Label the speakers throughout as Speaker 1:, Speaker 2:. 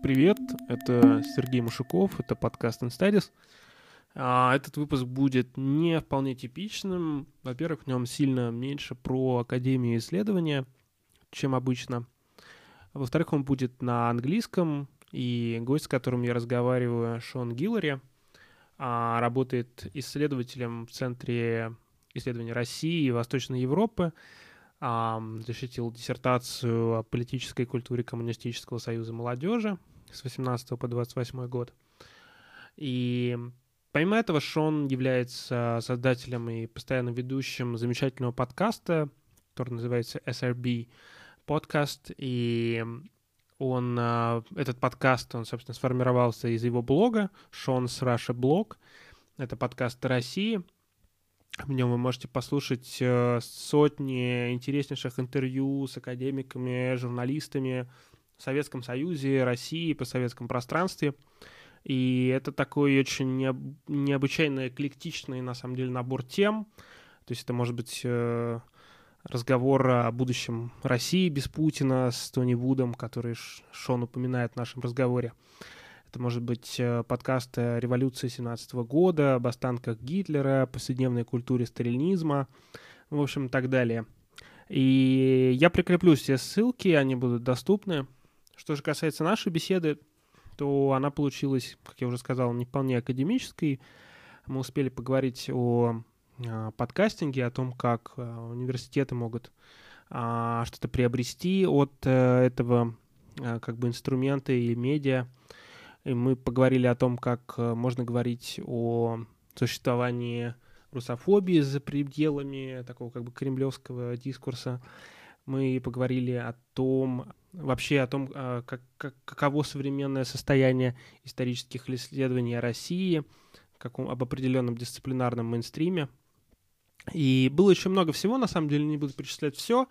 Speaker 1: привет, это Сергей Машуков, это подкаст InStudies. Этот выпуск будет не вполне типичным. Во-первых, в нем сильно меньше про академию исследования, чем обычно. Во-вторых, он будет на английском, и гость, с которым я разговариваю, Шон Гиллари, работает исследователем в Центре исследований России и Восточной Европы, защитил диссертацию о политической культуре Коммунистического союза молодежи с 18 по 28 год. И помимо этого, Шон является создателем и постоянным ведущим замечательного подкаста, который называется SRB подкаст. И этот подкаст, он, собственно, сформировался из его блога Sean's Russia Blog. Это подкаст о России. В нем вы можете послушать сотни интереснейших интервью с академиками, журналистами в Советском Союзе, России, постсоветском пространстве. И это такой очень необычайно эклектичный, на самом деле, набор тем. То есть это может быть разговор о будущем России без Путина с Тони Вудом, который Шон упоминает в нашем разговоре. Это может быть подкаст о революции 17 года, об останках Гитлера, повседневной культуре сталинизма, в общем, и так далее. И я прикреплю все ссылки, они будут доступны. Что же касается нашей беседы, то она получилась, как я уже сказал, не вполне академической. Мы успели поговорить о подкастинге, о том, как университеты могут что-то приобрести от этого как бы инструмента и медиа. И мы поговорили о том, как можно говорить о существовании русофобии за пределами такого как бы кремлевского дискурса. Мы поговорили о том, каково современное состояние исторических исследований о России, об определенном дисциплинарном мейнстриме. И было еще много всего, на самом деле не буду перечислять все,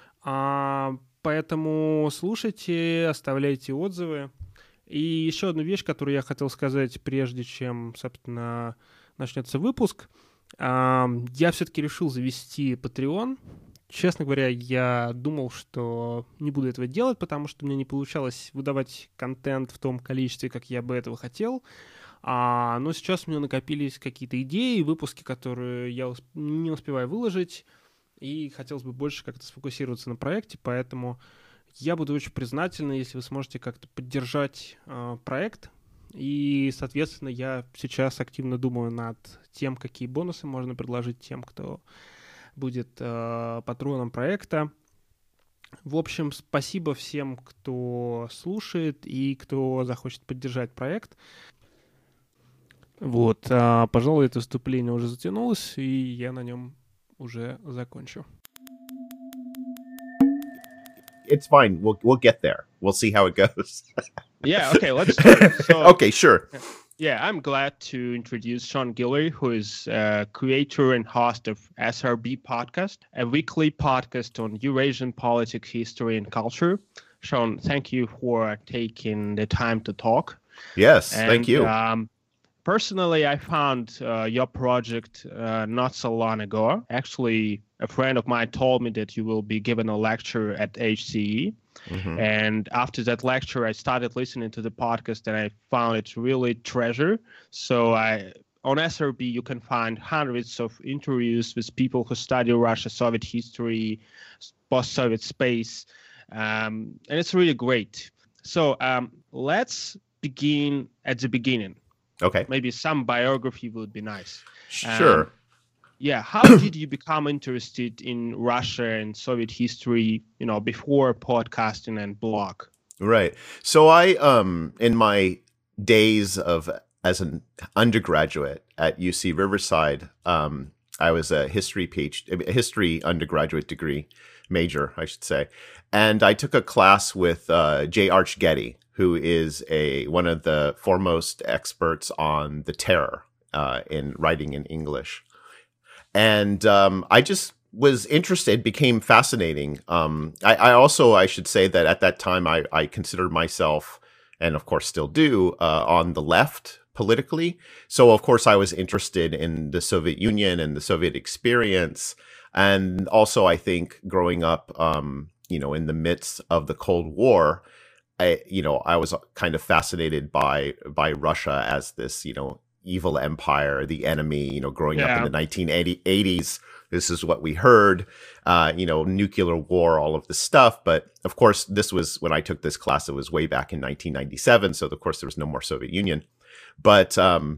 Speaker 1: поэтому слушайте, оставляйте отзывы. И еще одну вещь, которую я хотел сказать, прежде чем, собственно, начнется выпуск. Я все-таки решил завести Patreon. Честно говоря, я думал, что не буду этого делать, потому что мне не получалось выдавать контент в том количестве, как я бы этого хотел. Но сейчас у меня накопились какие-то идеи, выпуски, которые я не успеваю выложить, и хотелось бы больше как-то сфокусироваться на проекте, поэтому я буду очень признателен, если вы сможете как-то поддержать проект. И, соответственно, я сейчас активно думаю над тем, какие бонусы можно предложить тем, кто будет патроном проекта. В общем, спасибо всем, кто слушает и кто захочет поддержать проект. Вот, пожалуй, это вступление уже затянулось, и я на нем уже закончу.
Speaker 2: It's fine. We'll get there. We'll see how it goes.
Speaker 3: Yeah, okay, let's start. So,
Speaker 2: okay, sure.
Speaker 3: Yeah, I'm glad to introduce Sean Guillory, who is creator and host of SRB Podcast, a weekly podcast on Eurasian politics, history, and culture. Sean, thank you for taking the time to talk.
Speaker 2: Yes, thank you.
Speaker 3: Personally, I found your project not so long ago. Actually, a friend of mine told me that you will be giving a lecture at HCE. Mm-hmm. And after that lecture, I started listening to the podcast and I found it really treasure. So on SRB, you can find hundreds of interviews with people who study Russia, Soviet history, post-Soviet space. And it's really great. So let's begin at the beginning.
Speaker 2: Okay.
Speaker 3: Maybe some biography would be nice.
Speaker 2: Sure.
Speaker 3: Yeah. How did you become interested in Russia and Soviet history, before podcasting and blog?
Speaker 2: Right. So I, in my days as an undergraduate at UC Riverside, I was a history undergraduate degree major, I should say. And I took a class with Jay Archgetty, who is one of the foremost experts on the terror in writing in English. And I just was interested, became fascinating. I should say that at that time, I considered myself, and of course still do, on the left politically. So, of course, I was interested in the Soviet Union and the Soviet experience. And also, I think growing up, in the midst of the Cold War, I was kind of fascinated by Russia as this, evil empire, the enemy, growing up in the 1980s. This is what we heard, nuclear war, all of this stuff. But of course, this was when I took this class, it was way back in 1997. So of course, there was no more Soviet Union. But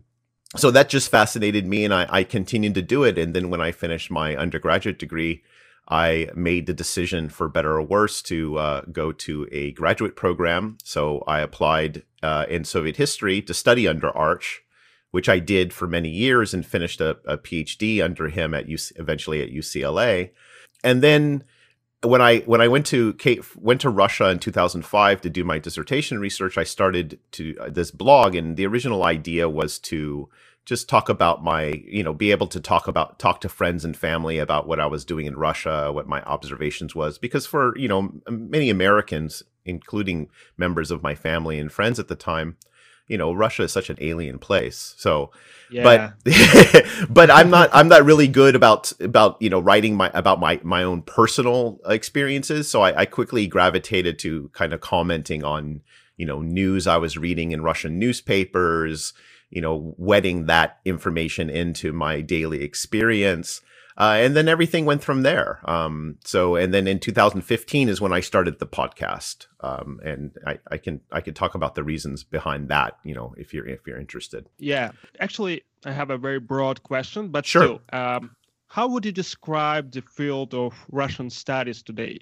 Speaker 2: so that just fascinated me, and I continued to do it. And then when I finished my undergraduate degree, I made the decision, for better or worse, to go to a graduate program. So I applied in Soviet history to study under Arch, which I did for many years and finished a PhD under him eventually at UCLA. And then when I went to Russia in 2005 to do my dissertation research, I started this blog, and the original idea was to just talk about be able to talk to friends and family about what I was doing in Russia, what my observations was, because for, many Americans, including members of my family and friends at the time, Russia is such an alien place. So,
Speaker 3: yeah.
Speaker 2: but I'm not really good about writing about my own personal experiences. So I quickly gravitated to kind of commenting on, news I was reading in Russian newspapers, wedding that information into my daily experience. And then everything went from there. And then in 2015 is when I started the podcast. And I can talk about the reasons behind that, if you're interested.
Speaker 3: Yeah, actually, I have a very broad question, but
Speaker 2: sure.
Speaker 3: Still, how would you describe the field of Russian studies today?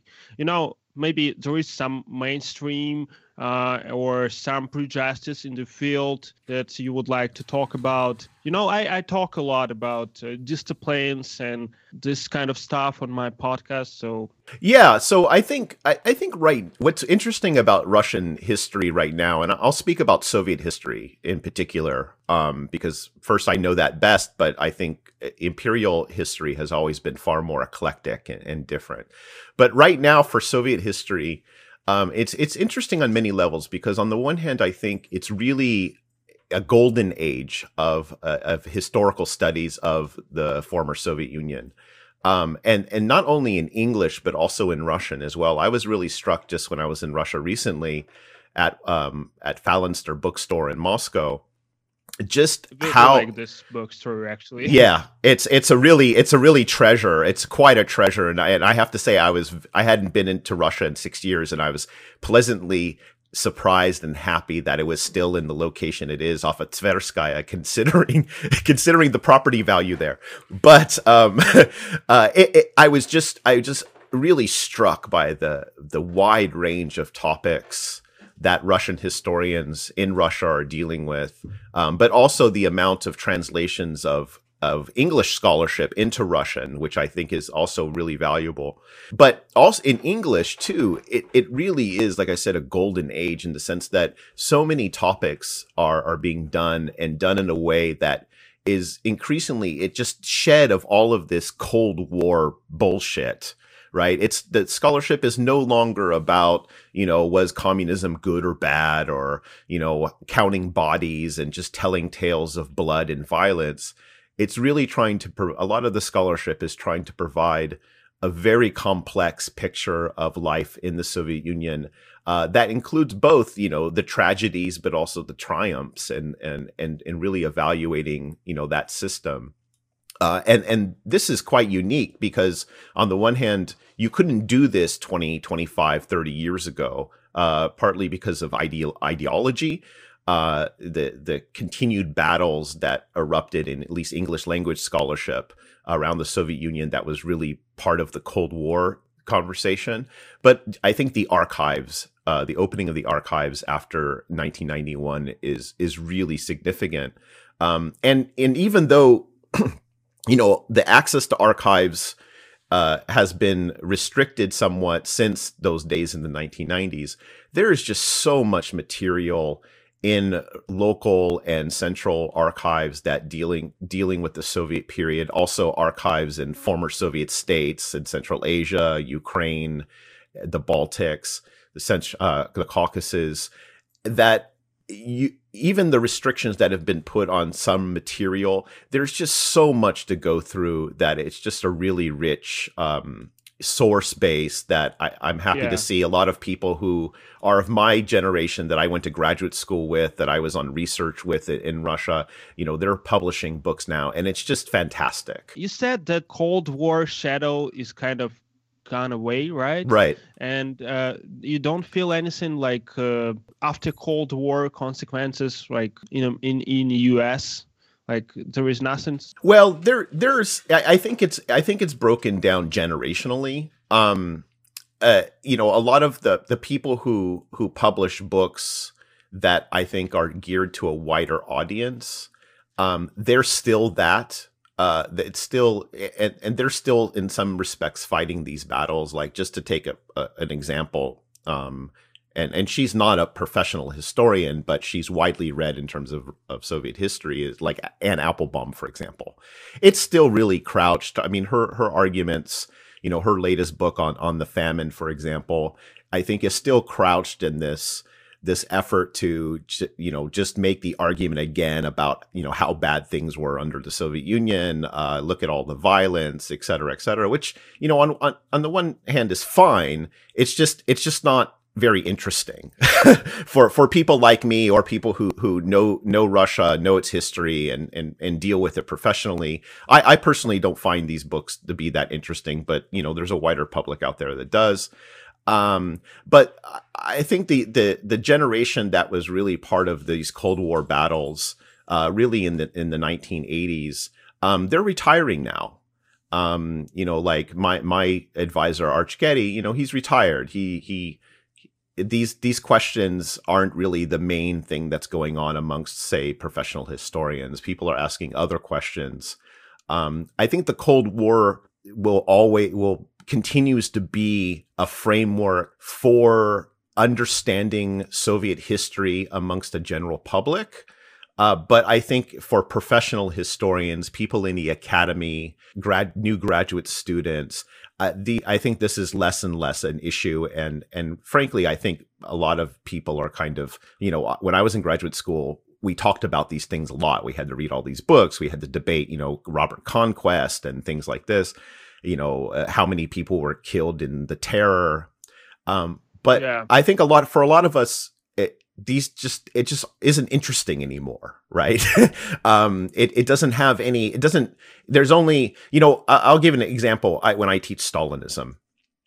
Speaker 3: Maybe there is some mainstream or some prejudice in the field that you would like to talk about. I talk a lot about disciplines and this kind of stuff on my podcast. So
Speaker 2: yeah, so I think right. What's interesting about Russian history right now, and I'll speak about Soviet history in particular, because first I know that best, but I think imperial history has always been far more eclectic and different. But right now for Soviet history, it's interesting on many levels, because on the one hand, I think it's really a golden age of historical studies of the former Soviet Union. And not only in English, but also in Russian as well. I was really struck just when I was in Russia recently at Falinster bookstore in Moscow, just how
Speaker 3: like this bookstore actually.
Speaker 2: Yeah, it's a really treasure. It's quite a treasure, and I have to say I hadn't been into Russia in 6 years, and I was pleasantly surprised and happy that it was still in the location it is off of Tverskaya, considering the property value there. But I was just really struck by the wide range of topics that Russian historians in Russia are dealing with, but also the amount of translations of English scholarship into Russian, which I think is also really valuable. But also in English too, it really is, like I said, a golden age in the sense that so many topics are being done in a way that is increasingly, it just shed of all of this Cold War bullshit. Right. It's that scholarship is no longer about, was communism good or bad, or, counting bodies and just telling tales of blood and violence. It's really a lot of the scholarship is trying to provide a very complex picture of life in the Soviet Union that includes both, the tragedies, but also the triumphs and really evaluating, that system. And this is quite unique because on the one hand, you couldn't do this 20, 25, 30 years ago, partly because of ideology, the continued battles that erupted in at least English language scholarship around the Soviet Union that was really part of the Cold War conversation. But I think the archives, the opening of the archives after 1991 is really significant. And even though the access to archives has been restricted somewhat since those days in the 1990s, there is just so much material in local and central archives that dealing with the Soviet period, also archives in former Soviet states in Central Asia, Ukraine, the Baltics, the Caucasus, that even the restrictions that have been put on some material, there's just so much to go through that it's just a really rich source base that I'm happy to see a lot of people who are of my generation that I went to graduate school with, that I was on research with in Russia. They're publishing books now, and it's just fantastic.
Speaker 3: You said the Cold War shadow is kind of gone away, right?
Speaker 2: Right.
Speaker 3: And you don't feel anything like after Cold War consequences, like in the US? Like there is nothing.
Speaker 2: Well, there's. I think it's broken down generationally. A lot of the people who publish books that I think are geared to a wider audience, they're still that. It's still, and they're still in some respects fighting these battles. Like, just to take an example, and she's not a professional historian, but she's widely read in terms of Soviet history, is like Anne Applebaum, for example. It's still really crouched. I mean, her arguments, her latest book on the famine, for example, I think is still crouched in this effort to, just make the argument again about, how bad things were under the Soviet Union, look at all the violence, et cetera, which, on the one hand is fine. It's just not very interesting for people like me, or people who know Russia, know its history, and deal with it professionally. I personally don't find these books to be that interesting, but there's a wider public out there that does. But I think the generation that was really part of these Cold War battles, really in the 1980s, they're retiring now. Like my advisor, Arch Getty, he's retired. These questions aren't really the main thing that's going on amongst, say, professional historians. People are asking other questions. I think the Cold War will continues to be a framework for understanding Soviet history amongst the general public. But I think for professional historians, people in the academy, new graduate students, I think this is less and less an issue. And frankly, I think a lot of people are kind of, when I was in graduate school, we talked about these things a lot. We had to read all these books. We had to debate, Robert Conquest and things like this, how many people were killed in the terror. But yeah. I think for a lot of us, it just isn't interesting anymore, right? It doesn't have any, there's only, I'll give an example. When I teach Stalinism,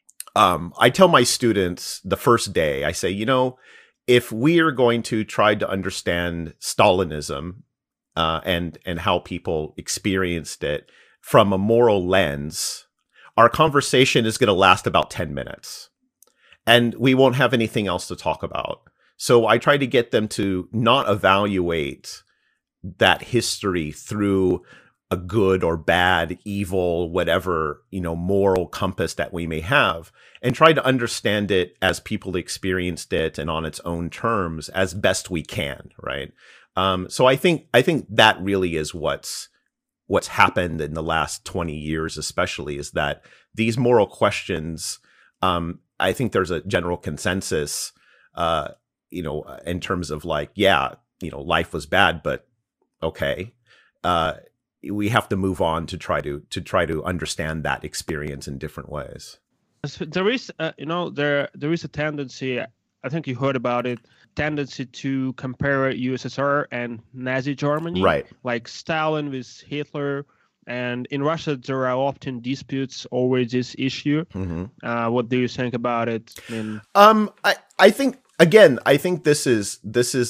Speaker 2: I tell my students the first day, I say, if we are going to try to understand Stalinism, and how people experienced it from a moral lens, our conversation is going to last about 10 minutes and we won't have anything else to talk about. So I try to get them to not evaluate that history through a good or bad, evil, whatever, moral compass that we may have, and try to understand it as people experienced it and on its own terms as best we can, right? So I think that really is what's happened in the last 20 years, especially, is that these moral questions, I think there's a general consensus, in terms of like, life was bad, but okay. We have to move on to try to understand that experience in different ways.
Speaker 3: There is, there is a tendency, I think you heard about it, tendency to compare USSR and Nazi Germany,
Speaker 2: right? Like
Speaker 3: Stalin with Hitler. And in Russia, there are often disputes over this issue. Mm-hmm. What do you think about it?
Speaker 2: I think, again, this is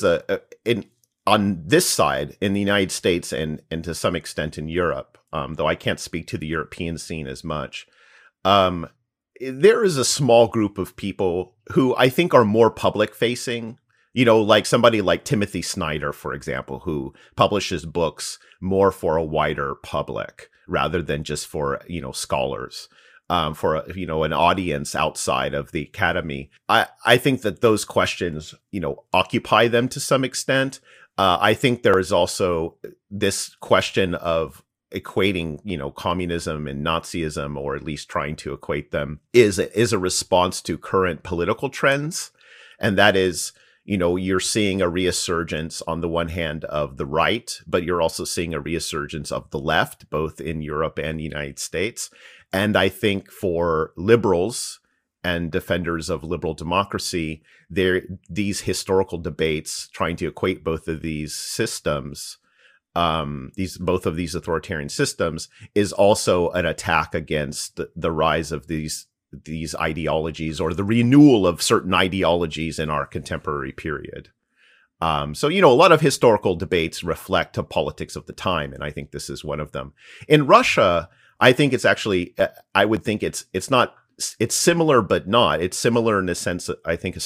Speaker 2: on this side in the United States and to some extent in Europe, though I can't speak to the European scene as much. There is a small group of people who I think are more public facing, like somebody like Timothy Snyder, for example, who publishes books more for a wider public rather than just for, scholars. For an audience outside of the academy. I think that those questions, occupy them to some extent. I think there is also this question of equating, communism and Nazism, or at least trying to equate them, is a response to current political trends. And that is, you're seeing a resurgence on the one hand of the right, but you're also seeing a resurgence of the left, both in Europe and the United States. And I think for liberals and defenders of liberal democracy, these historical debates trying to equate both of these systems, both of these authoritarian systems, is also an attack against the rise of these ideologies, or the renewal of certain ideologies in our contemporary period. So, a lot of historical debates reflect the politics of the time, and I think this is one of them. In Russia, I think it's actually, I would think it's similar, but not. It's similar in the sense that I think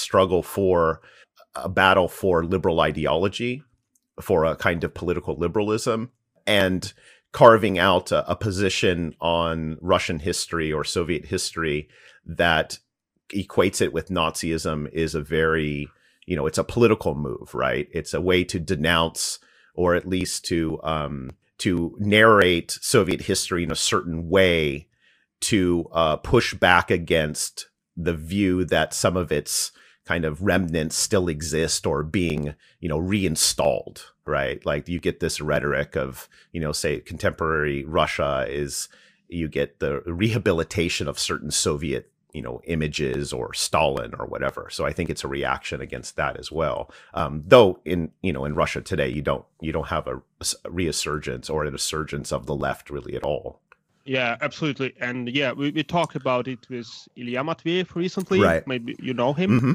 Speaker 2: a battle for liberal ideology, for a kind of political liberalism, and carving out a position on Russian history or Soviet history that equates it with Nazism is a very, it's a political move, right? It's a way to denounce, or at least to narrate Soviet history in a certain way to push back against the view that some of its kind of remnants still exist or being, reinstalled, right? Like you get this rhetoric of, say contemporary Russia you get the rehabilitation of certain Soviet, images, or Stalin or whatever. So I think it's a reaction against that as well. Though in Russia today, you don't have a resurgence or an resurgence of the left really at all.
Speaker 3: Yeah, absolutely. And yeah, we talked about it with Ilya Matveyev recently.
Speaker 2: Right.
Speaker 3: Maybe you know him.
Speaker 2: Mm-hmm.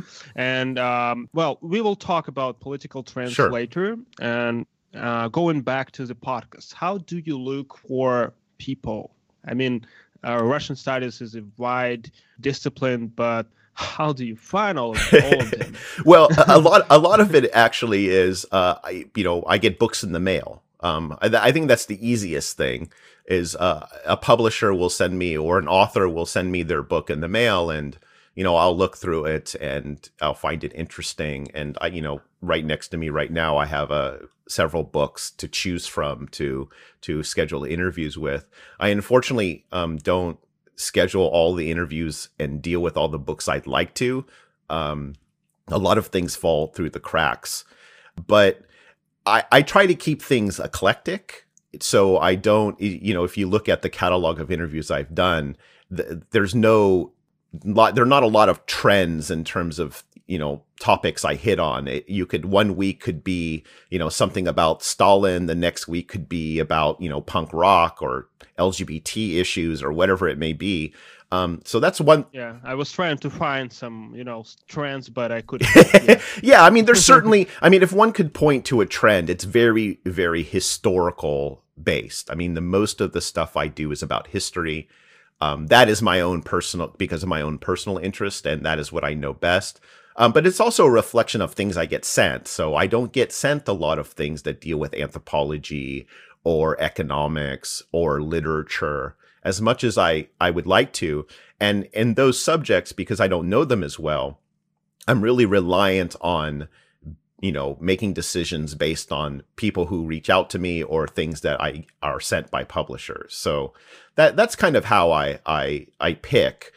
Speaker 3: And we will talk about political trends
Speaker 2: Sure.
Speaker 3: later. And going back to the podcast, how do you look for people? I mean, Russian studies is a wide discipline, but how do you find all of them?
Speaker 2: Well, a lot of it actually is, I get books in the mail. I think that's the easiest thing. Is a publisher will send me, or an author will send me their book in the mail, and I'll look through it and I'll find it interesting. And right next to me right now, I have several books to choose from to schedule interviews with. I unfortunately don't schedule all the interviews and deal with all the books I'd like to. A lot of things fall through the cracks, but I try to keep things eclectic. So I don't, if you look at the catalog of interviews I've done, there are not a lot of trends in terms of, topics I hit on. One week could be, something about Stalin. The next week could be about, punk rock or LGBT issues or whatever it may be. So that's one.
Speaker 3: Yeah, I was trying to find some, trends, but I couldn't.
Speaker 2: Yeah. Yeah, I mean, there's certainly, if one could point to a trend, it's very, very historical based. I mean, most of the stuff I do is about history. That is because of my own personal interest, and that is what I know best. But it's also a reflection of things I get sent. So I don't get sent a lot of things that deal with anthropology or economics or literature as much as I would like to. And in those subjects, because I don't know them as well, I'm really reliant on, making decisions based on people who reach out to me or things that are sent by publishers. So that's kind of how I pick.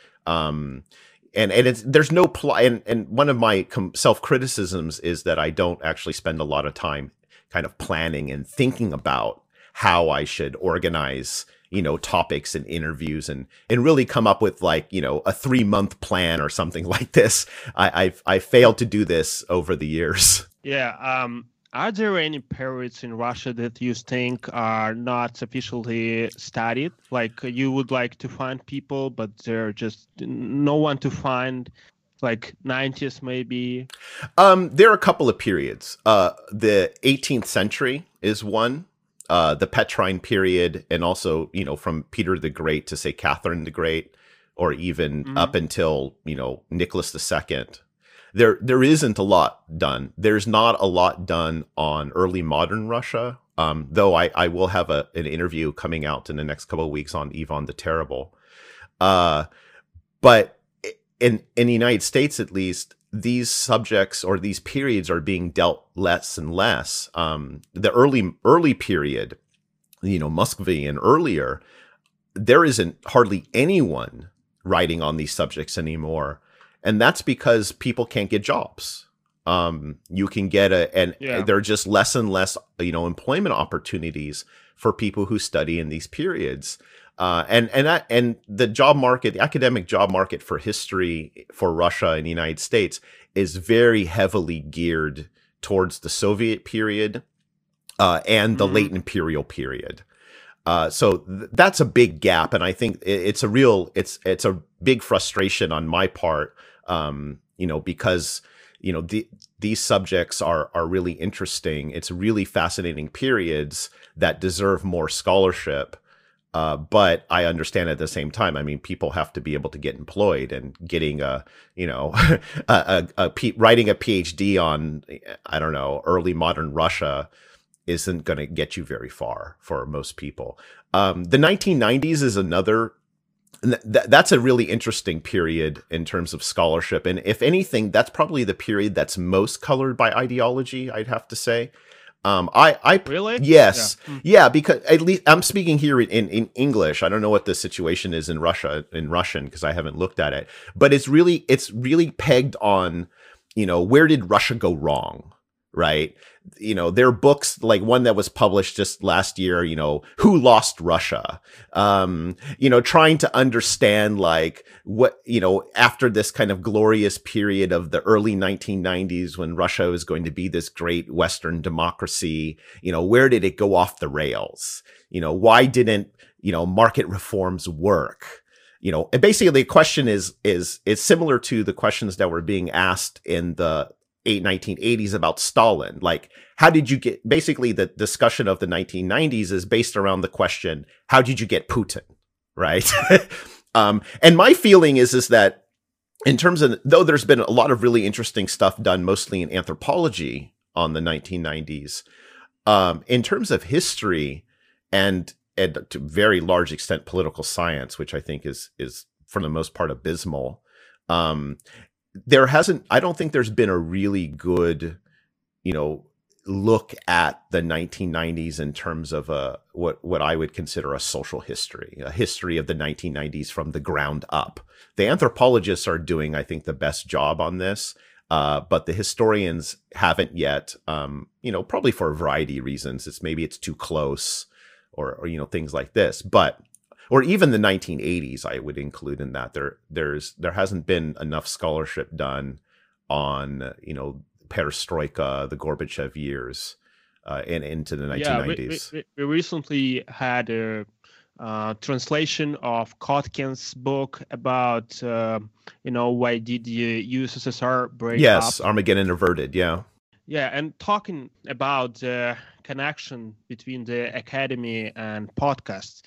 Speaker 2: And there's no and one of my self-criticisms is that I don't actually spend a lot of time kind of planning and thinking about how I should organize, topics and interviews and really come up with a 3-month plan or something like this. I failed to do this over the years.
Speaker 3: Yeah. Are there any periods in Russia that you think are not sufficiently studied? Like you would like to find people, but they're just no one to find, like 90s maybe?
Speaker 2: There are a couple of periods. The 18th century is one, the Petrine period, and also, from Peter the Great to say Catherine the Great, or even up until, Nicholas II. There isn't a lot done. There's not a lot done on early modern Russia, though I will have an interview coming out in the next couple of weeks on Ivan the Terrible. But in the United States, at least, these subjects or these periods are being dealt less and less. The early period, Muscovy and earlier, there isn't hardly anyone writing on these subjects anymore. And that's because people can't get jobs. You can get there are just less and less, employment opportunities for people who study in these periods. And the job market, the academic job market for history for Russia and the United States is very heavily geared towards the Soviet period and the late imperial period. So that's a big gap, and I think it's a big frustration on my part, because these subjects are really interesting. It's really fascinating periods that deserve more scholarship. But I understand at the same time, I mean, people have to be able to get employed, and getting writing a PhD on, I don't know, early modern Russia isn't going to get you very far for most people. The 1990s is another, that's a really interesting period in terms of scholarship. And if anything, that's probably the period that's most colored by ideology, I'd have to say. I
Speaker 3: really?
Speaker 2: Yes. Yeah, because at least I'm speaking here in English. I don't know what the situation is in Russian, because I haven't looked at it. But it's really pegged on, where did Russia go wrong? Right. There are books like one that was published just last year, Who Lost Russia? Trying to understand like what, after this kind of glorious period of the early 1990s when Russia was going to be this great Western democracy, where did it go off the rails? Why didn't, market reforms work? And basically the question is similar to the questions that were being asked in the 1980s about Stalin. Like, how did you get, basically the discussion of the 1990s is based around the question, how did you get Putin? Right. And my feeling is that in terms of, though there's been a lot of really interesting stuff done mostly in anthropology on the 1990s, in terms of history and to very large extent political science, which I think is for the most part abysmal, I don't think there's been a really good, look at the 1990s in terms of what I would consider a social history, a history of the 1990s from the ground up. The anthropologists are doing, I think, the best job on this, but the historians haven't yet, probably for a variety of reasons. Maybe it's too close or things like this, or even the 1980s, I would include in that. There hasn't been enough scholarship done on, perestroika, the Gorbachev years, and into the 1990s.
Speaker 3: Yeah, we recently had a translation of Kotkin's book about, why did the USSR break up?
Speaker 2: Yes, Armageddon Averted, yeah.
Speaker 3: Yeah, and talking about the connection between the academy and podcasts,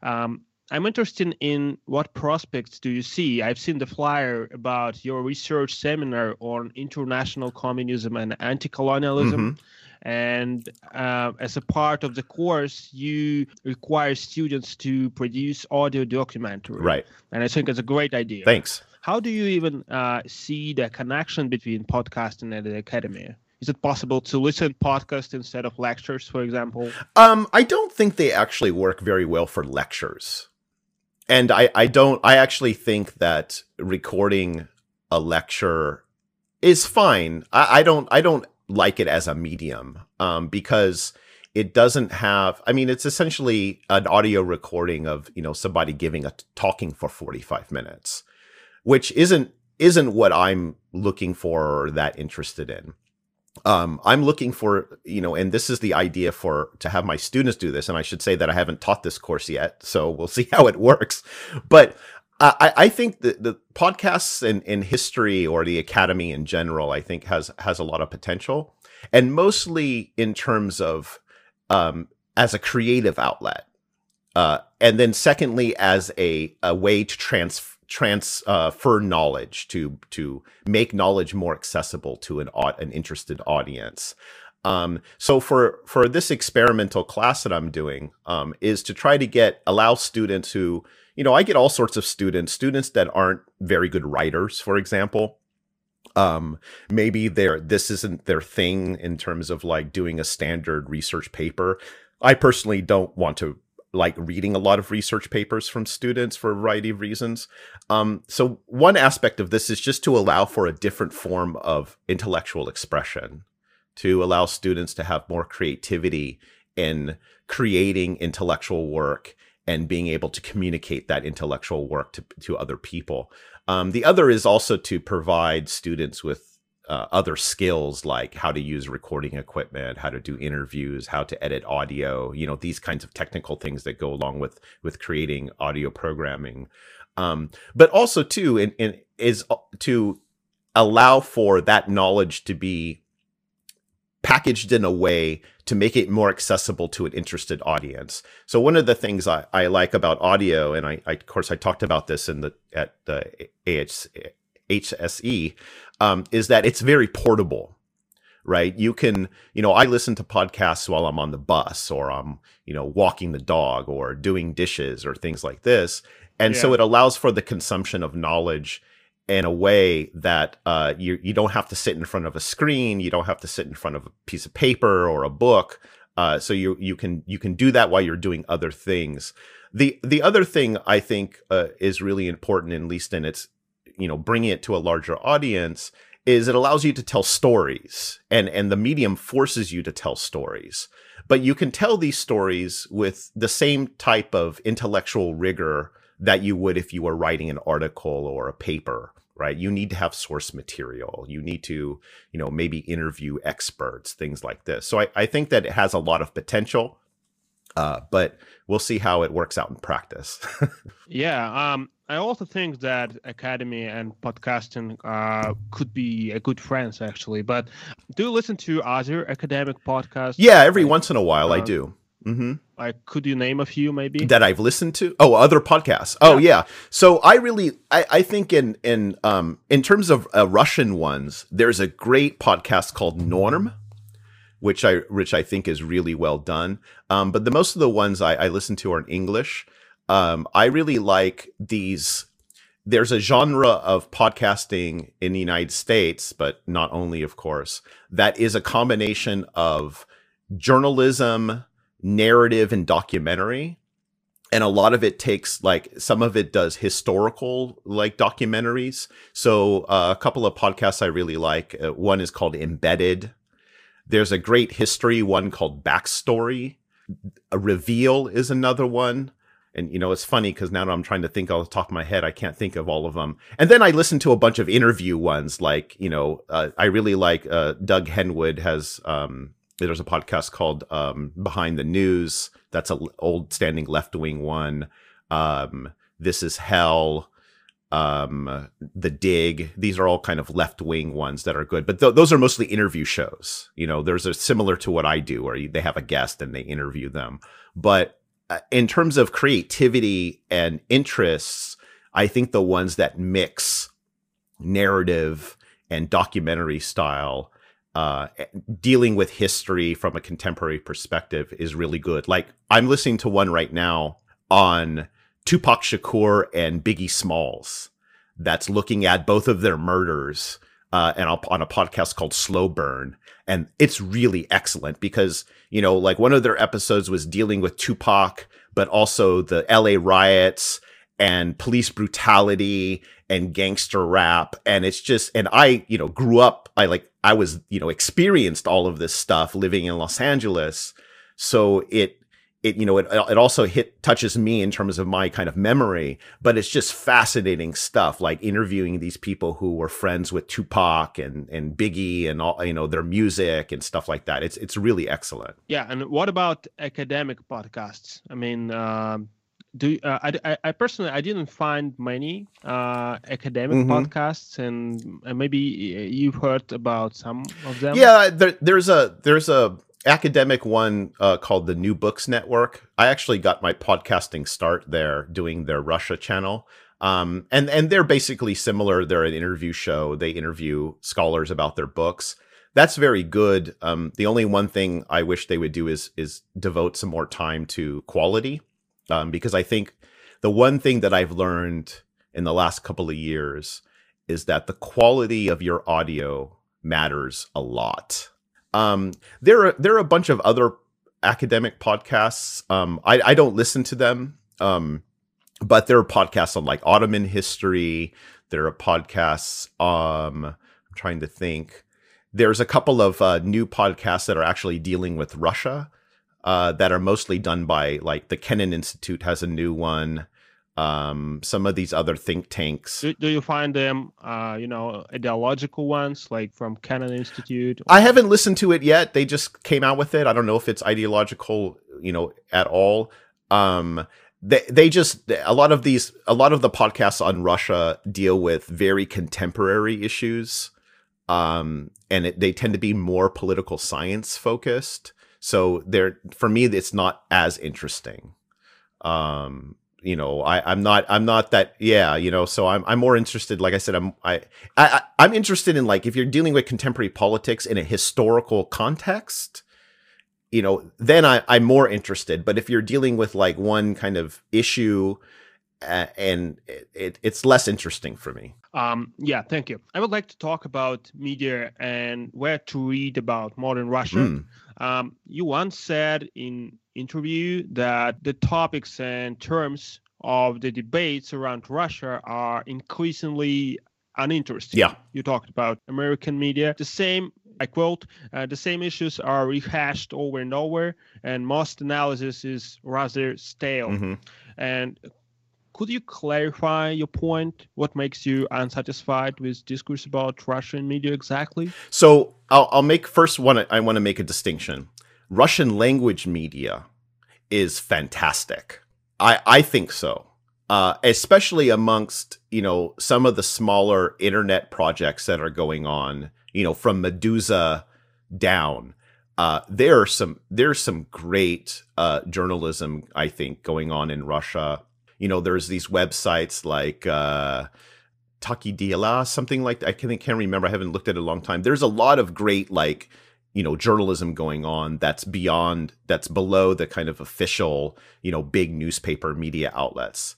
Speaker 3: I'm interested in what prospects do you see? I've seen the flyer about your research seminar on international communism and anti-colonialism. And as a part of the course, you require students to produce audio documentary.
Speaker 2: Right.
Speaker 3: And I think it's a great idea.
Speaker 2: Thanks.
Speaker 3: How do you even see the connection between podcasting and the academy? Is it possible to listen to podcasts instead of lectures, for example?
Speaker 2: I don't think they actually work very well for lectures. And I actually think that recording a lecture is fine. I don't like it as a medium, because it doesn't have, it's essentially an audio recording of, somebody talking for 45 minutes, which isn't what I'm looking for or that interested in. I'm looking for, and this is the idea to have my students do this. And I should say that I haven't taught this course yet, so we'll see how it works. But I think the podcasts in history, or the academy in general, I think has a lot of potential, and mostly in terms of as a creative outlet, and then secondly as a way to transfer knowledge, to make knowledge more accessible to an interested audience. So for this experimental class that I'm doing, is to try to allow students who, I get all sorts of students that aren't very good writers, for example. Maybe this isn't their thing in terms of like doing a standard research paper. I personally don't want to like reading a lot of research papers from students for a variety of reasons. So one aspect of this is just to allow for a different form of intellectual expression, to allow students to have more creativity in creating intellectual work and being able to communicate that intellectual work to other people. The other is also to provide students with other skills like how to use recording equipment, how to do interviews, how to edit audio, these kinds of technical things that go along with creating audio programming. But also too, is to allow for that knowledge to be packaged in a way to make it more accessible to an interested audience. So one of the things I like about audio, and I of course I talked about this at the HSE, is that it's very portable, right? You can, I listen to podcasts while I'm on the bus, or I'm, walking the dog, or doing dishes, or things like this. And so it allows for the consumption of knowledge in a way that you don't have to sit in front of a screen, you don't have to sit in front of a piece of paper or a book. So you can do that while you're doing other things. The other thing I think is really important, at least in its bringing it to a larger audience, is it allows you to tell stories, and the medium forces you to tell stories. But you can tell these stories with the same type of intellectual rigor that you would if you were writing an article or a paper, right? You need to have source material. You need to, maybe interview experts, things like this. So I think that it has a lot of potential, but we'll see how it works out in practice.
Speaker 3: I also think that academy and podcasting could be a good friends, actually. But do you listen to other academic podcasts?
Speaker 2: Yeah, every once in a while I do. Mm-hmm.
Speaker 3: Like, could you name a few maybe
Speaker 2: that I've listened to? Oh, other podcasts. Oh, yeah. So I think in terms of Russian ones, there's a great podcast called Norm, which I think is really well done. But most of the ones I listen to are in English. I really like these. There's a genre of podcasting in the United States, but not only, of course, that is a combination of journalism, narrative, and documentary. And a lot of it takes, some of it does historical, documentaries. So a couple of podcasts I really like. One is called Embedded. There's a great history one called Backstory. A Reveal is another one. And, it's funny because now that I'm trying to think off the top of my head, I can't think of all of them. And then I listen to a bunch of interview ones, I really like Doug Henwood has, there's a podcast called Behind the News. That's an old standing left-wing one. This Is Hell, The Dig. These are all kind of left-wing ones that are good. But those are mostly interview shows. There's a similar to what I do, where they have a guest and they interview them. But in terms of creativity and interests, I think the ones that mix narrative and documentary style, dealing with history from a contemporary perspective, is really good. Like, I'm listening to one right now on Tupac Shakur and Biggie Smalls that's looking at both of their murders and on a podcast called Slow Burn. And it's really excellent because, one of their episodes was dealing with Tupac, but also the LA riots and police brutality and gangster rap. And it's just, and I, grew up, I was, experienced all of this stuff living in Los Angeles. So it also touches me in terms of my kind of memory, but it's just fascinating stuff, like interviewing these people who were friends with Tupac and Biggie and all, their music and stuff like that. It's really excellent.
Speaker 3: Yeah. And what about academic podcasts? I mean, I personally, I didn't find many academic podcasts, and maybe you've heard about some of them.
Speaker 2: Yeah, there's a academic one called the New Books Network. I actually got my podcasting start there doing their Russia channel. And they're basically similar. They're an interview show. They interview scholars about their books. That's very good. The only one thing I wish they would do is devote some more time to quality. Because I think the one thing that I've learned in the last couple of years is that the quality of your audio matters a lot. There are a bunch of other academic podcasts. I don't listen to them, but there are podcasts on Ottoman history. There are podcasts. I'm trying to think. There's a couple of new podcasts that are actually dealing with Russia. that are mostly done by, like, the Kennan Institute has a new one. Some of these other think tanks.
Speaker 3: Do you find them, ideological ones, like from Kennan Institute?
Speaker 2: I haven't listened to it yet. They just came out with it. I don't know if it's ideological, at all. They just, a lot of the podcasts on Russia deal with very contemporary issues. And they tend to be more political science focused. So for me, it's not as interesting. I'm not that, so I'm more interested, like I said, I'm interested in, like, if you're dealing with contemporary politics in a historical context, then I'm more interested. But if you're dealing with, like, one kind of issue, and it's less interesting for me.
Speaker 3: Yeah, thank you. I would like to talk about media and where to read about modern Russia. You once said in interview that the topics and terms of the debates around Russia are increasingly uninteresting.
Speaker 2: Yeah.
Speaker 3: You talked about American media. I quote, the same issues are rehashed over and over, and most analysis is rather stale.
Speaker 2: Mm-hmm.
Speaker 3: And could you clarify your point? What makes you unsatisfied with discourse about Russian media exactly?
Speaker 2: So I'll make first one. I want to make a distinction. Russian language media is fantastic. I think so. Especially amongst, some of the smaller internet projects that are going on, from Medusa down. There's some great journalism, I think, going on in Russia. There's these websites like Taki Diala, something like that. I can't remember. I haven't looked at it in a long time. There's a lot of great, like, journalism going on that's below the kind of official, big newspaper media outlets.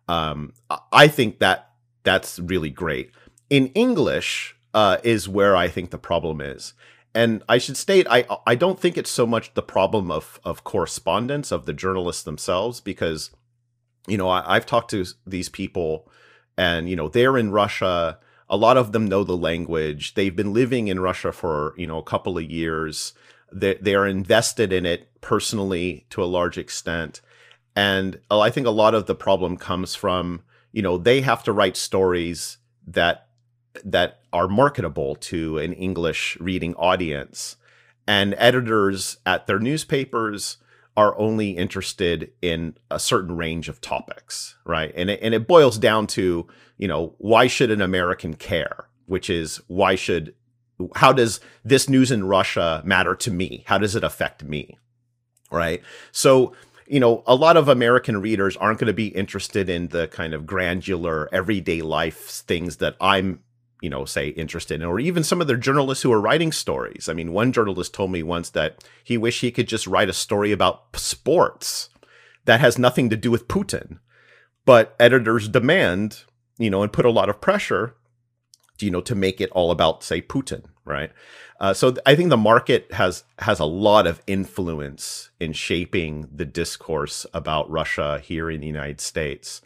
Speaker 2: I think that's really great. In English is where I think the problem is. And I should state, I don't think it's so much the problem of correspondence of the journalists themselves, because, I've talked to these people and, they're in Russia. A lot of them know the language. They've been living in Russia for, a couple of years. They are invested in it personally to a large extent. And I think a lot of the problem comes from, they have to write stories that are marketable to an English reading audience. And editors at their newspapers are only interested in a certain range of topics, right? And it boils down to, why should an American care? Which is, how does this news in Russia matter to me? How does it affect me, right? So, a lot of American readers aren't going to be interested in the kind of granular everyday life things that I'm, say, interested in, or even some of the journalists who are writing stories. I mean, one journalist told me once that he wished he could just write a story about sports that has nothing to do with Putin, but editors demand, and put a lot of pressure, to make it all about, say, Putin, right? So I think the market has a lot of influence in shaping the discourse about Russia here in the United States.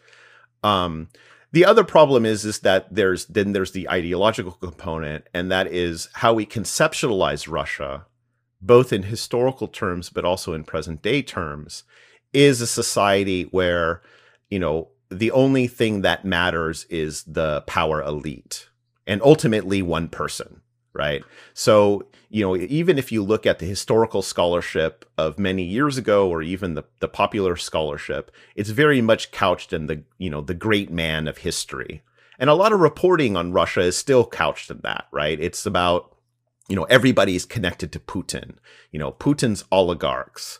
Speaker 2: The other problem is that there's the ideological component, and that is how we conceptualize Russia, both in historical terms but also in present day terms, is a society where, the only thing that matters is the power elite and ultimately one person, right? So, even if you look at the historical scholarship of many years ago, or even the popular scholarship, it's very much couched in the great man of history. And a lot of reporting on Russia is still couched in that, right? It's about, everybody's connected to Putin, Putin's oligarchs,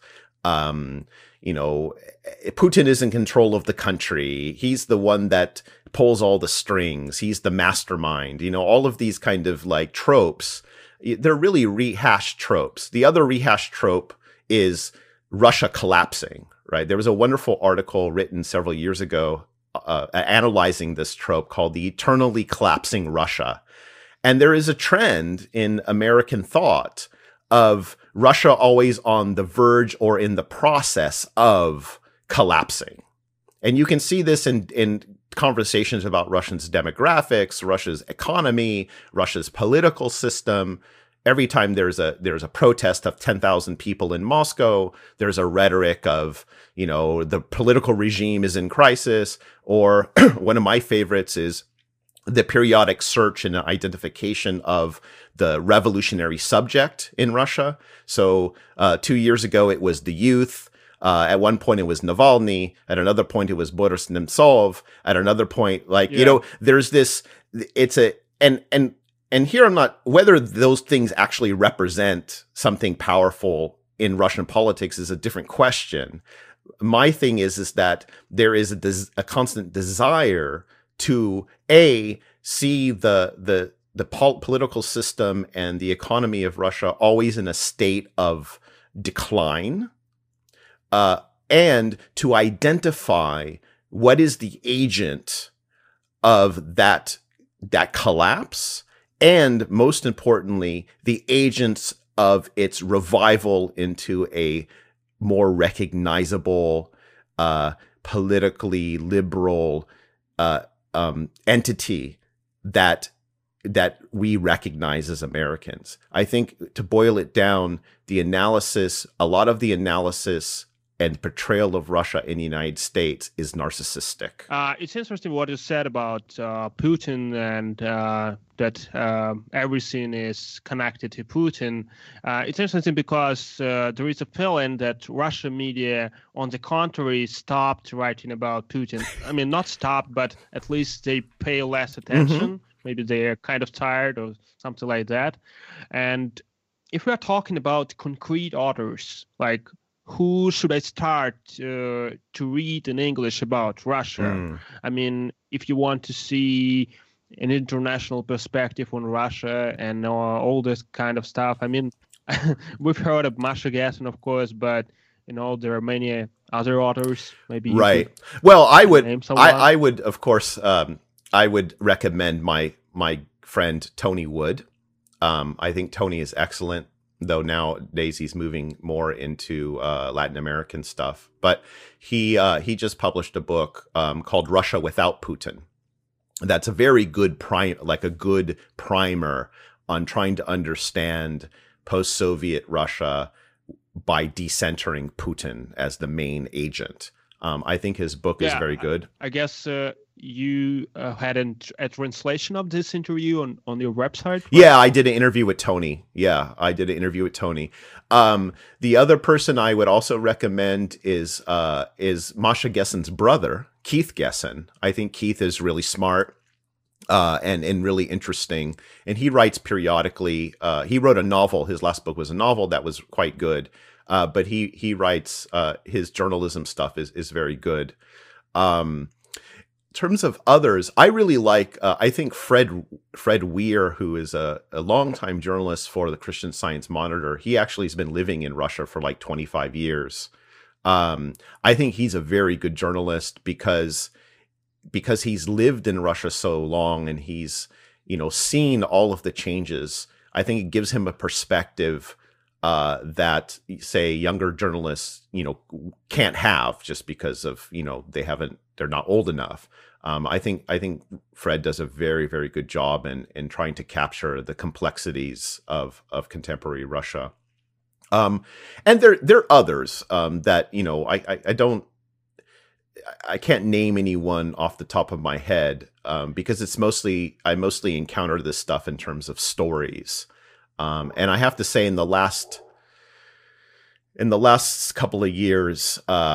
Speaker 2: Putin is in control of the country. He's the one that pulls all the strings. He's the mastermind. All of these kind of, like, tropes, they're really rehashed tropes. The other rehashed trope is Russia collapsing, right? There was a wonderful article written several years ago analyzing this trope called the eternally collapsing Russia. And there is a trend in American thought of Russia always on the verge or in the process of collapsing. And you can see this in conversations about Russia's demographics, Russia's economy, Russia's political system. every time there's a protest of 10,000 people in Moscow, there's a rhetoric of, the political regime is in crisis. Or one of my favorites is the periodic search and identification of the revolutionary subject in Russia. So 2 years ago, it was the youth. At one point, it was Navalny. At another point, it was Boris Nemtsov. At another point, there's this. And here I'm not, whether those things actually represent something powerful in Russian politics is a different question. My thing is that there is a constant desire to see the political system and the economy of Russia always in a state of decline, and to identify what is the agent of that collapse, and most importantly, the agents of its revival into a more recognizable, politically liberal entity that we recognize as Americans. I think, to boil it down, a lot of the analysis and portrayal of Russia in the United States is narcissistic.
Speaker 3: It's interesting what you said about Putin and that everything is connected to Putin. It's interesting because there is a feeling that Russian media, on the contrary, stopped writing about Putin. I mean, not stopped, but at least they pay less attention. Maybe they're kind of tired or something like that. And if we are talking about concrete authors, like who should I start to read in English about Russia? I mean, if you want to see an international perspective on Russia and all this kind of stuff, I mean, we've heard of Masha Gessen, of course, but there are many other authors. Maybe
Speaker 2: right. Well, I would, of course, I would recommend my friend Tony Wood. I think Tony is excellent, though nowadays he's moving more into Latin American stuff. But he just published a book called Russia Without Putin. That's a very good good primer on trying to understand post-Soviet Russia by decentering Putin as the main agent. I think his book is very good.
Speaker 3: I guess you had a translation of this interview on your website? Right?
Speaker 2: Yeah, I did an interview with Tony. The other person I would also recommend is Masha Gessen's brother, Keith Gessen. I think Keith is really smart and really interesting. And he writes periodically. He wrote a novel. His last book was a novel that was quite good. But he writes, his journalism stuff is very good. In terms of others, I really like, I think Fred Weir, who is a longtime journalist for the Christian Science Monitor. He actually has been living in Russia for like 25 years. I think he's a very good journalist because he's lived in Russia so long and he's, seen all of the changes. I think it gives him a perspective that, say, younger journalists, can't have just because of, they're not old enough. I think Fred does a very, very good job in trying to capture the complexities of contemporary Russia. And there are others that, I can't name anyone off the top of my head because I mostly encounter this stuff in terms of stories. And I have to say, in the last couple of years,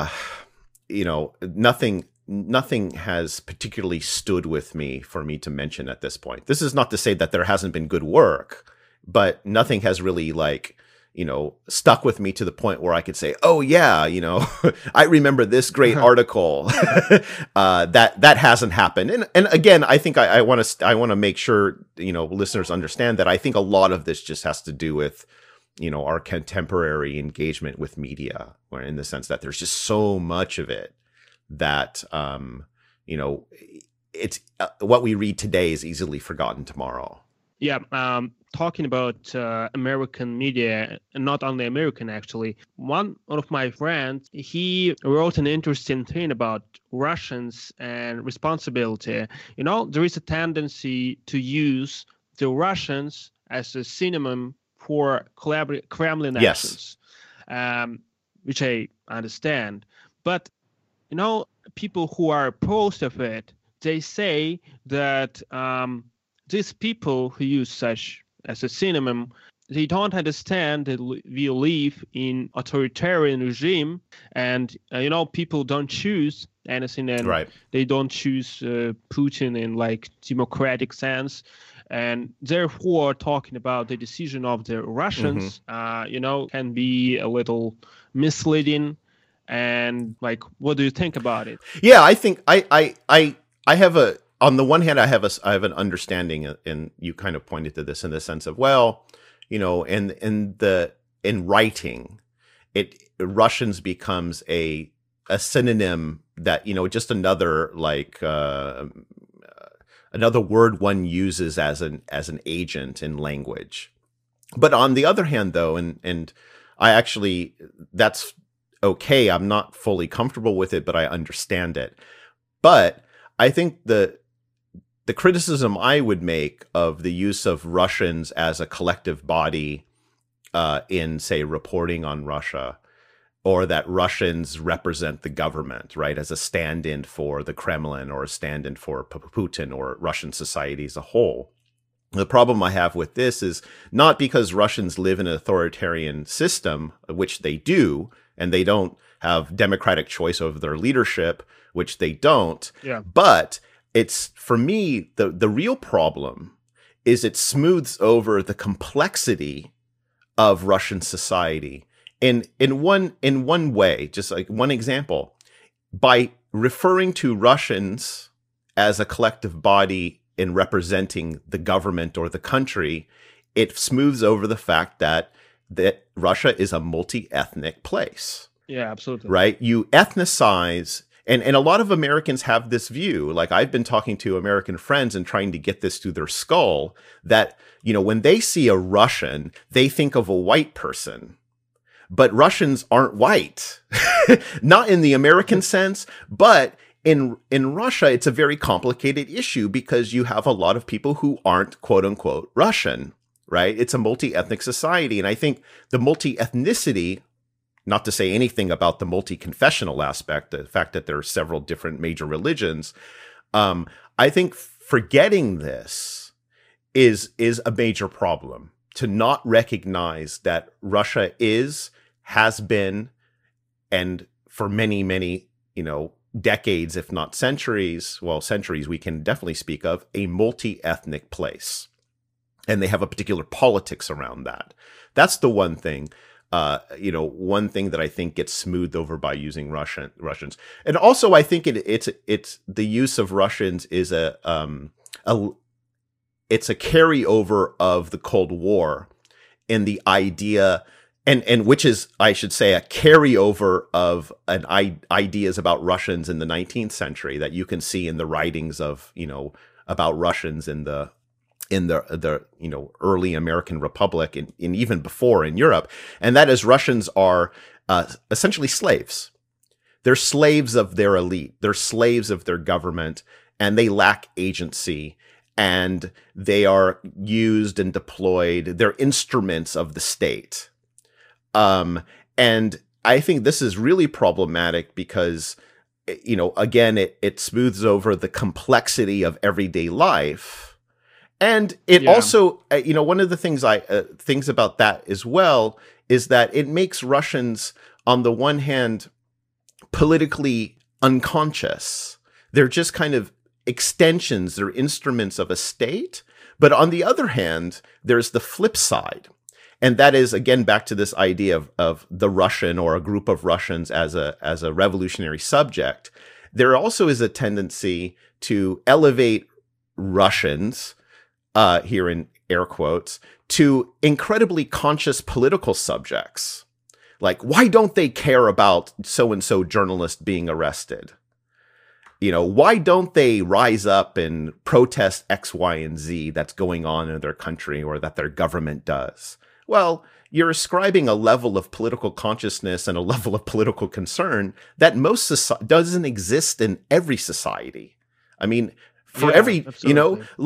Speaker 2: nothing has particularly stood with me for me to mention at this point. This is not to say that there hasn't been good work, but nothing has really stuck with me to the point where I could say, oh yeah, I remember this great article. that hasn't happened. And again, I think I want to make sure, listeners understand that I think a lot of this just has to do with, our contemporary engagement with media, or in the sense that there's just so much of it that, it's what we read today is easily forgotten tomorrow.
Speaker 3: Yeah, talking about American media, and not only American, actually. One of my friends, he wrote an interesting thing about Russians and responsibility. There is a tendency to use the Russians as a synonym for Kremlin
Speaker 2: Yes.
Speaker 3: actions, which I understand. But, people who are opposed of it, they say that these people who use such as a synonym, they don't understand that we live in authoritarian regime, and people don't choose anything, and
Speaker 2: Right.
Speaker 3: they don't choose Putin in like democratic sense, and therefore talking about the decision of the Russians, can be a little misleading. And like, what do you think about it?
Speaker 2: Yeah, I think I have on the one hand, I have an understanding, and you kind of pointed to this in the sense of, well, in writing, Russians becomes a synonym that, just another like another word one uses as an agent in language. But on the other hand, though, and I actually, that's okay. I'm not fully comfortable with it, but I understand it. But I think the criticism I would make of the use of Russians as a collective body in, say, reporting on Russia, or that Russians represent the government, right, as a stand-in for the Kremlin or a stand-in for Putin or Russian society as a whole. The problem I have with this is not because Russians live in an authoritarian system, which they do, and they don't have democratic choice over their leadership, which they don't, but it's, for me, the real problem is it smooths over the complexity of Russian society in one way. Just like one example, by referring to Russians as a collective body in representing the government or the country, it smooths over the fact that Russia is a multi-ethnic place.
Speaker 3: Yeah, absolutely.
Speaker 2: Right? You ethnicize. And a lot of Americans have this view, like I've been talking to American friends and trying to get this through their skull, that, when they see a Russian, they think of a white person. But Russians aren't white, not in the American sense, but in Russia, it's a very complicated issue because you have a lot of people who aren't, quote unquote, Russian, right? It's a multi-ethnic society. And I think the multi-ethnicity, not to say anything about the multi-confessional aspect, the fact that there are several different major religions, I think forgetting this is a major problem. To not recognize that Russia has been, and for many, many, decades, if not centuries, centuries we can definitely speak of, a multi-ethnic place. And they have a particular politics around that. That's the one thing. One thing that I think gets smoothed over by using Russians, and also I think it's the use of Russians is it's a carryover of the Cold War, in the idea, and which is, I should say, a carryover of ideas about Russians in the 19th century that you can see in the writings of about Russians in the early American Republic and even before in Europe. And that is, Russians are essentially slaves. They're slaves of their elite. They're slaves of their government, and they lack agency, and they are used and deployed. They're instruments of the state. And I think this is really problematic because, again, it smooths over the complexity of everyday life. And it also, one of the things things about that as well is that it makes Russians, on the one hand, politically unconscious. They're just kind of extensions, they're instruments of a state. But on the other hand, there's the flip side. And that is, again, back to this idea of the Russian or a group of Russians as a revolutionary subject. There also is a tendency to elevate Russians, here in air quotes, to incredibly conscious political subjects. Like, why don't they care about so-and-so journalist being arrested? Why don't they rise up and protest X, Y, and Z that's going on in their country or that their government does? Well, you're ascribing a level of political consciousness and a level of political concern that doesn't exist in every society. I mean, for every,
Speaker 3: absolutely.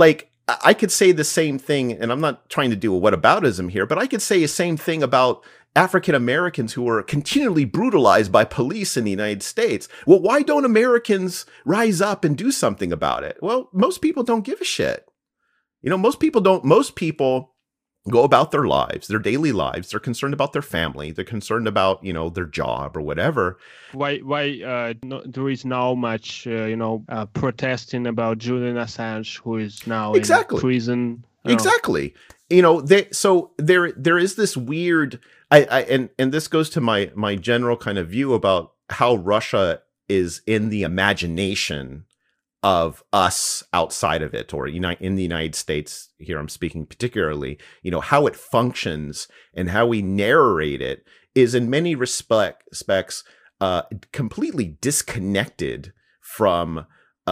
Speaker 2: I could say the same thing, and I'm not trying to do a whataboutism here, but I could say the same thing about African Americans who are continually brutalized by police in the United States. Well, why don't Americans rise up and do something about it? Well, most people don't give a shit. Most people don't. Most people go about their lives, their daily lives. They're concerned about their family. They're concerned about, their job or whatever.
Speaker 3: Why there is now much, protesting about Julian Assange, who is now in prison.
Speaker 2: Exactly. So there is this weird, and this goes to my general kind of view about how Russia is in the imagination of us outside of it, or in the United States. Here I'm speaking particularly, how it functions and how we narrate it is in many respects completely disconnected from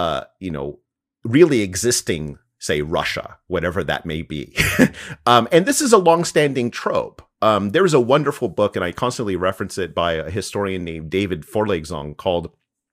Speaker 2: really existing, say, Russia, whatever that may be. And this is a longstanding trope. There's a wonderful book, and I constantly reference it, by a historian named David Forlexong, called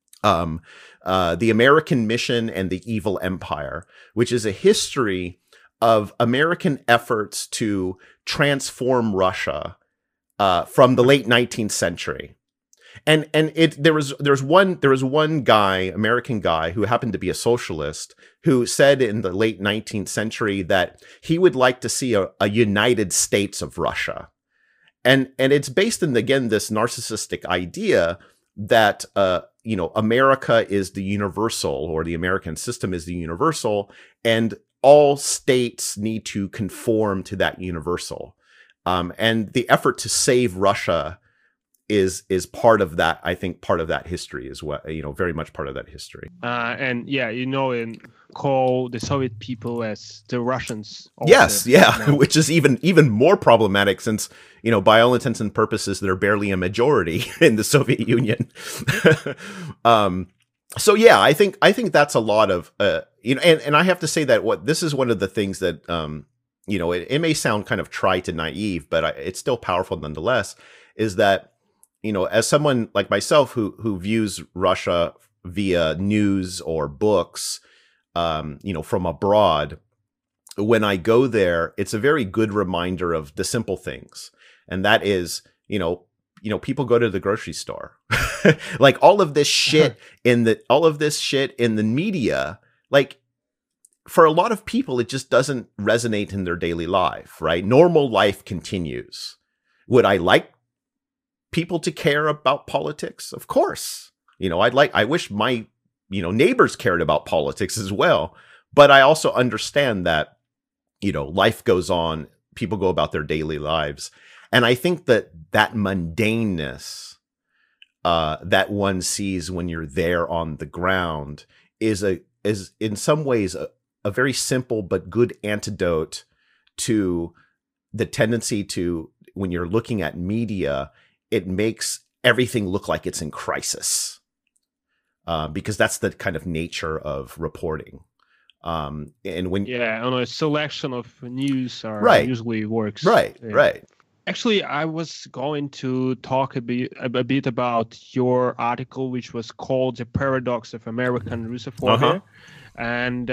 Speaker 2: The American Mission and the Evil Empire, which is a history of American efforts to transform Russia from the late 19th century. And there was one guy, American guy, who happened to be a socialist, who said in the late 19th century that he would like to see a United States of Russia. And it's based in, again, this narcissistic idea that America is the universal, or the American system is the universal, and all states need to conform to that universal. And the effort to save Russia is part of that. I think part of that history is what, very much part of that history.
Speaker 3: And call the Soviet people as the Russians.
Speaker 2: Yes, which is even more problematic, since by all intents and purposes they're barely a majority in the Soviet Union. So yeah, I think that's a lot of and I have to say that this is one of the things that it may sound kind of trite and naive, but it's still powerful nonetheless. Is that as someone like myself who views Russia via news or books, from abroad, when I go there, it's a very good reminder of the simple things. And that is, people go to the grocery store. Like all of this shit in the media, like for a lot of people, it just doesn't resonate in their daily life, right? Normal life continues. Would I like people to care about politics? Of course. I wish my, neighbors cared about politics as well. But I also understand that, life goes on, people go about their daily lives. And I think that mundaneness that one sees when you're there on the ground is in some ways a very simple but good antidote to the tendency to, when you're looking at media, it makes everything look like it's in crisis, because that's the kind of nature of reporting. And when
Speaker 3: on a selection of news usually works.
Speaker 2: Right.
Speaker 3: Actually, I was going to talk a bit about your article, which was called "The Paradox of American Russophobia," and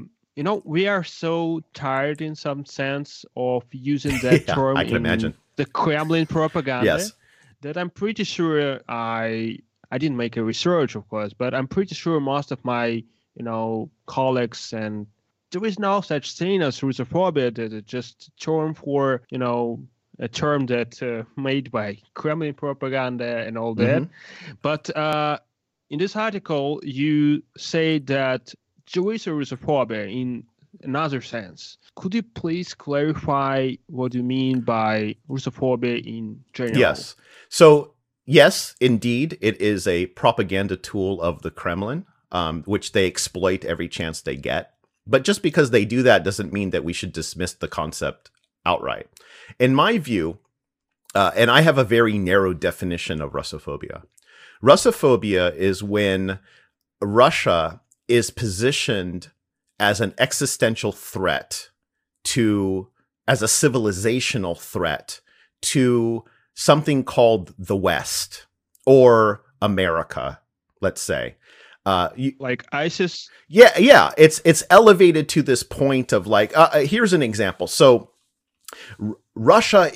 Speaker 3: we are so tired, in some sense, of using that term
Speaker 2: I can imagine.
Speaker 3: The Kremlin propaganda.
Speaker 2: Yes.
Speaker 3: That I'm pretty sure I didn't make a research, of course, but I'm pretty sure most of my colleagues, and there is no such thing as Russophobia. That it's just a term for a term that made by Kremlin propaganda and all that. Mm-hmm. But in this article, you say that there is a Russophobia in another sense. Could you please clarify what you mean by Russophobia in general?
Speaker 2: Yes. So, yes, indeed, it is a propaganda tool of the Kremlin, which they exploit every chance they get. But just because they do that doesn't mean that we should dismiss the concept outright. In my view, and I have a very narrow definition of Russophobia. Russophobia is when Russia is positioned as an existential threat as a civilizational threat to something called the West or America, let's say.
Speaker 3: Like ISIS?
Speaker 2: Yeah. It's elevated to this point of like, here's an example. So Russia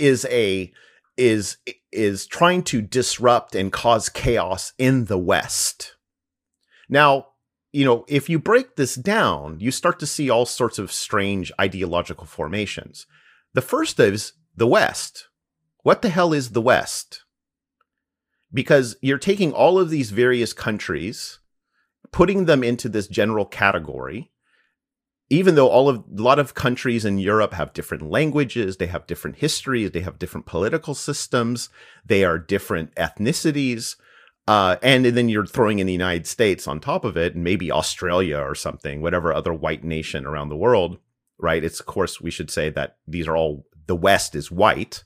Speaker 2: is trying to disrupt and cause chaos in the West. Now, if you break this down, you start to see all sorts of strange ideological formations. The first is the West. What the hell is the West? Because you're taking all of these various countries, putting them into this general category, even though a lot of countries in Europe have different languages, they have different histories, they have different political systems, they are different ethnicities, and then you're throwing in the United States on top of it, and maybe Australia or something, whatever other white nation around the world, right? It's, of course, we should say that these are all, the West is white.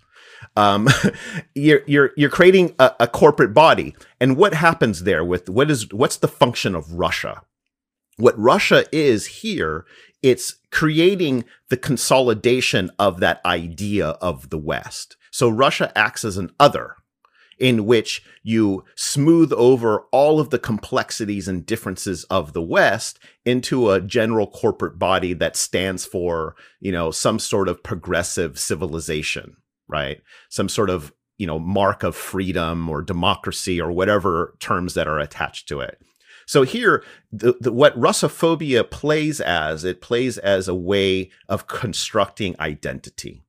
Speaker 2: You're creating a corporate body, and what happens there with what's the function of Russia? What Russia is here, it's creating the consolidation of that idea of the West. So Russia acts as an other in which you smooth over all of the complexities and differences of the West into a general corporate body that stands for, some sort of progressive civilization, right? Some sort of, mark of freedom or democracy or whatever terms that are attached to it. So here, what Russophobia plays as a way of constructing identity.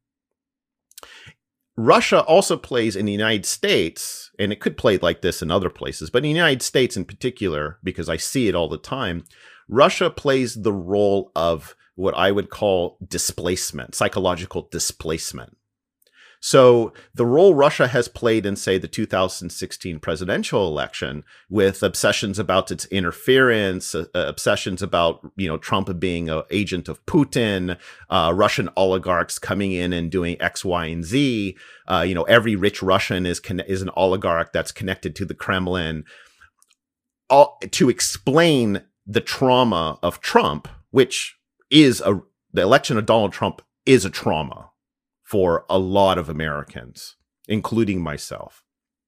Speaker 2: Russia also plays in the United States, and it could play like this in other places, but in the United States in particular, because I see it all the time, Russia plays the role of what I would call displacement, psychological displacement. So the role Russia has played in, say, the 2016 presidential election, with obsessions about its interference, obsessions about, Trump being an agent of Putin, Russian oligarchs coming in and doing X, Y, and Z. Every rich Russian is an oligarch that's connected to the Kremlin. To explain the trauma of Trump, which is the election of Donald Trump is a trauma for a lot of Americans, including myself.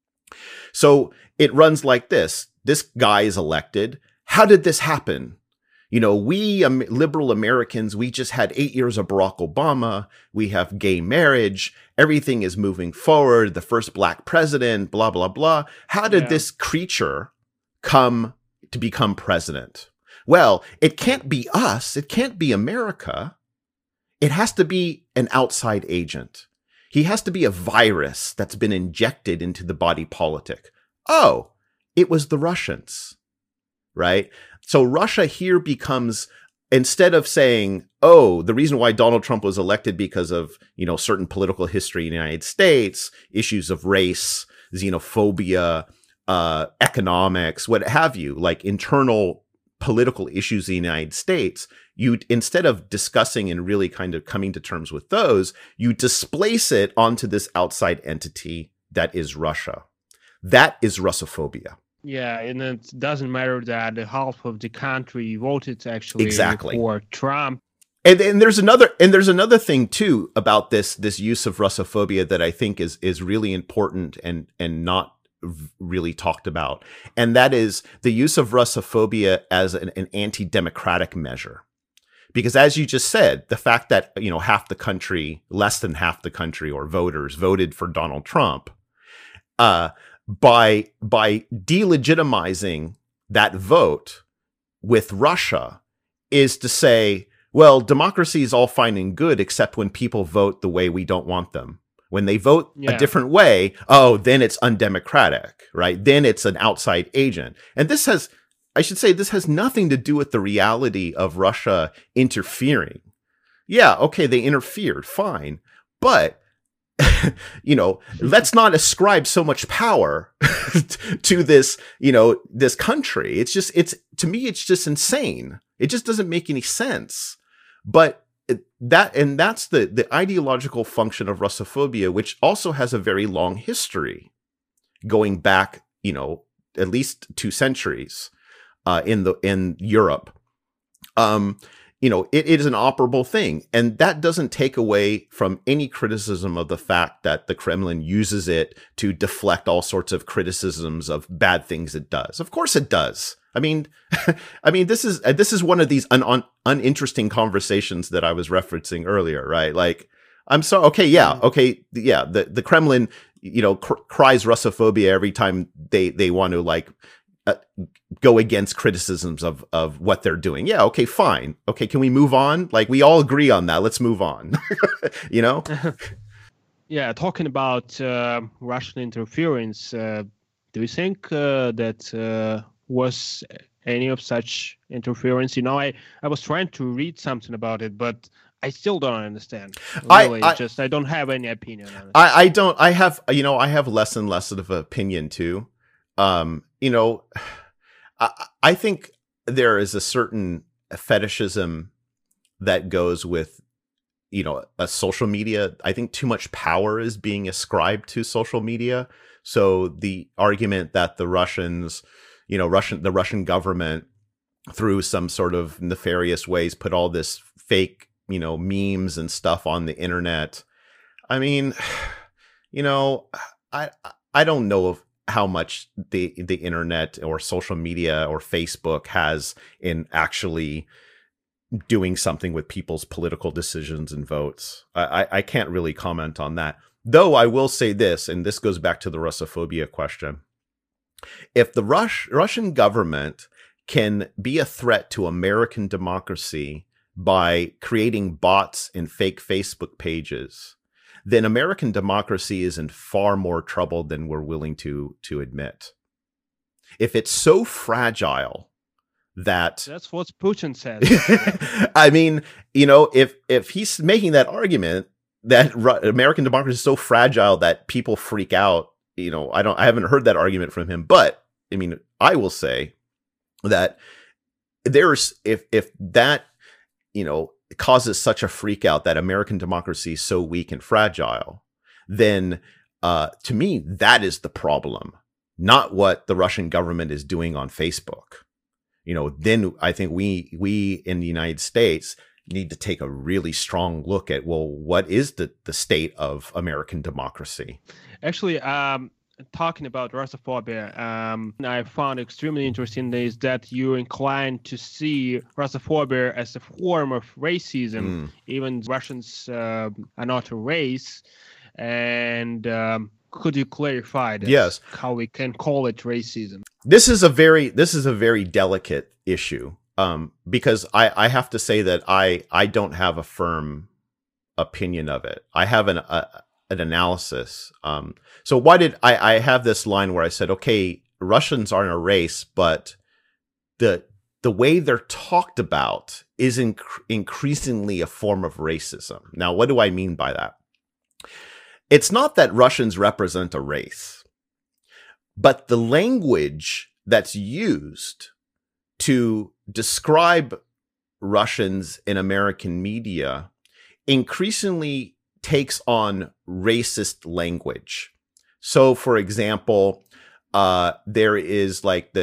Speaker 2: So it runs like this. This guy is elected. How did this happen? We liberal Americans, we just had 8 years of Barack Obama. We have gay marriage. Everything is moving forward. The first black president, blah, blah, blah. How did this creature come to become president? Well, it can't be us. It can't be America. It has to be an outside agent. He has to be a virus that's been injected into the body politic. Oh, it was the Russians, right? So Russia here becomes, instead of saying, oh, the reason why Donald Trump was elected because of, certain political history in the United States, issues of race, xenophobia, economics, what have you, like internal political issues in the United States, you, instead of discussing and really kind of coming to terms with those, you displace it onto this outside entity that is Russia. That is Russophobia.
Speaker 3: Yeah, and it doesn't matter that half of the country voted actually
Speaker 2: exactly
Speaker 3: for Trump.
Speaker 2: And there's another thing too about this use of Russophobia that I think is really important and not really talked about, and that is the use of Russophobia as an anti-democratic measure. Because as you just said, the fact that, half the country, less than half the country or voters voted for Donald Trump, by delegitimizing that vote with Russia is to say, well, democracy is all fine and good, except when people vote the way we don't want them. When they vote a different way, then it's undemocratic, right? Then it's an outside agent. And this has nothing to do with the reality of Russia interfering. Yeah, okay, they interfered, fine. But, let's not ascribe so much power to this, this country. To me, it's just insane. It just doesn't make any sense. But that's the ideological function of Russophobia, which also has a very long history going back, at least 2 centuries in Europe. It is an operable thing, and that doesn't take away from any criticism of the fact that the Kremlin uses it to deflect all sorts of criticisms of bad things it does. Of course it does. I mean, this is one of these uninteresting conversations that I was referencing earlier, right? Like, I'm sorry. Okay, yeah, okay, yeah. The Kremlin, cries Russophobia every time they want to like go against criticisms of what they're doing. Yeah, okay, fine. Okay, can we move on? Like, we all agree on that. Let's move on.
Speaker 3: Yeah, talking about Russian interference, do you think that was any of such interference? I was trying to read something about it, but I still don't understand. Really, I don't have any opinion on it.
Speaker 2: I don't. I have less and less of an opinion too. I think there is a certain fetishism that goes with, a social media. I think too much power is being ascribed to social media. So the argument that the Russians, the Russian government, through some sort of nefarious ways, put all this fake, memes and stuff on the internet. I mean, I don't know of how much the internet or social media or Facebook has in actually doing something with people's political decisions and votes. I can't really comment on that. Though I will say this, and this goes back to the Russophobia question. If the Russian government can be a threat to American democracy by creating bots and fake Facebook pages, then American democracy is in far more trouble than we're willing to admit. If it's so fragile that's
Speaker 3: what Putin says.
Speaker 2: I mean, if he's making that argument that American democracy is so fragile that people freak out, I haven't heard that argument from him, but I mean, I will say that there's if that causes such a freak out that American democracy is so weak and fragile, then to me that is the problem, not what the Russian government is doing on Facebook. Then I think we in the United States need to take a really strong look at, well, what is the state of American democracy?
Speaker 3: Actually, talking about Russophobia, I found extremely interesting is that you're inclined to see Russophobia as a form of racism. Even Russians are not a race. And could you clarify this?
Speaker 2: Yes.
Speaker 3: How we can call it racism?
Speaker 2: This is a very delicate issue. Because I have to say that I don't have a firm opinion of it. I have an analysis. So why did I have this line where I said, okay, Russians aren't a race, but the way they're talked about is increasingly a form of racism. Now, what do I mean by that? It's not that Russians represent a race, but the language that's used to describe Russians in American media increasingly takes on racist language. So, for example, there is like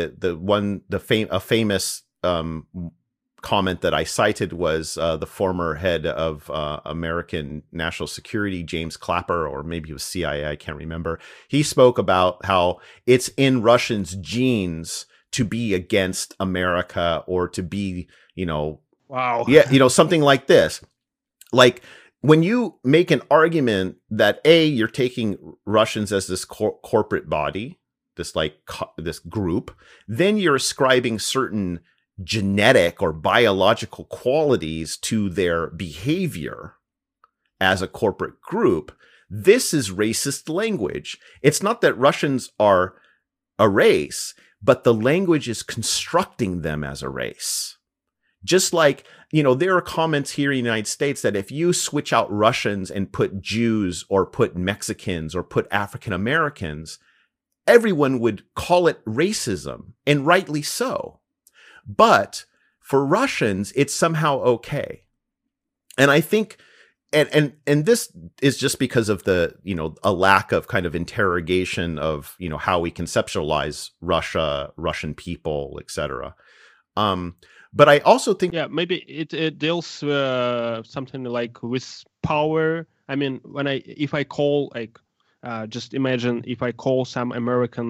Speaker 2: a famous comment that I cited was the former head of American National Security, James Clapper, or maybe it was CIA, I can't remember. He spoke about how it's in Russians' genes to be against America or to be,
Speaker 3: wow.
Speaker 2: Yeah, something like this. Like, when you make an argument that you're taking Russians as this corporate body, this group, then you're ascribing certain genetic or biological qualities to their behavior as a corporate group. This is racist language. It's not that Russians are a race, but the language is constructing them as a race. Just like, there are comments here in the United States that if you switch out Russians and put Jews or put Mexicans or put African Americans, everyone would call it racism, and rightly so. But for Russians, it's somehow okay. And I think, and this is just because of the, a lack of kind of interrogation of, how we conceptualize Russia, Russian people, etc. But I also think,
Speaker 3: maybe it deals something like with power. I mean, if I call just imagine if I call some American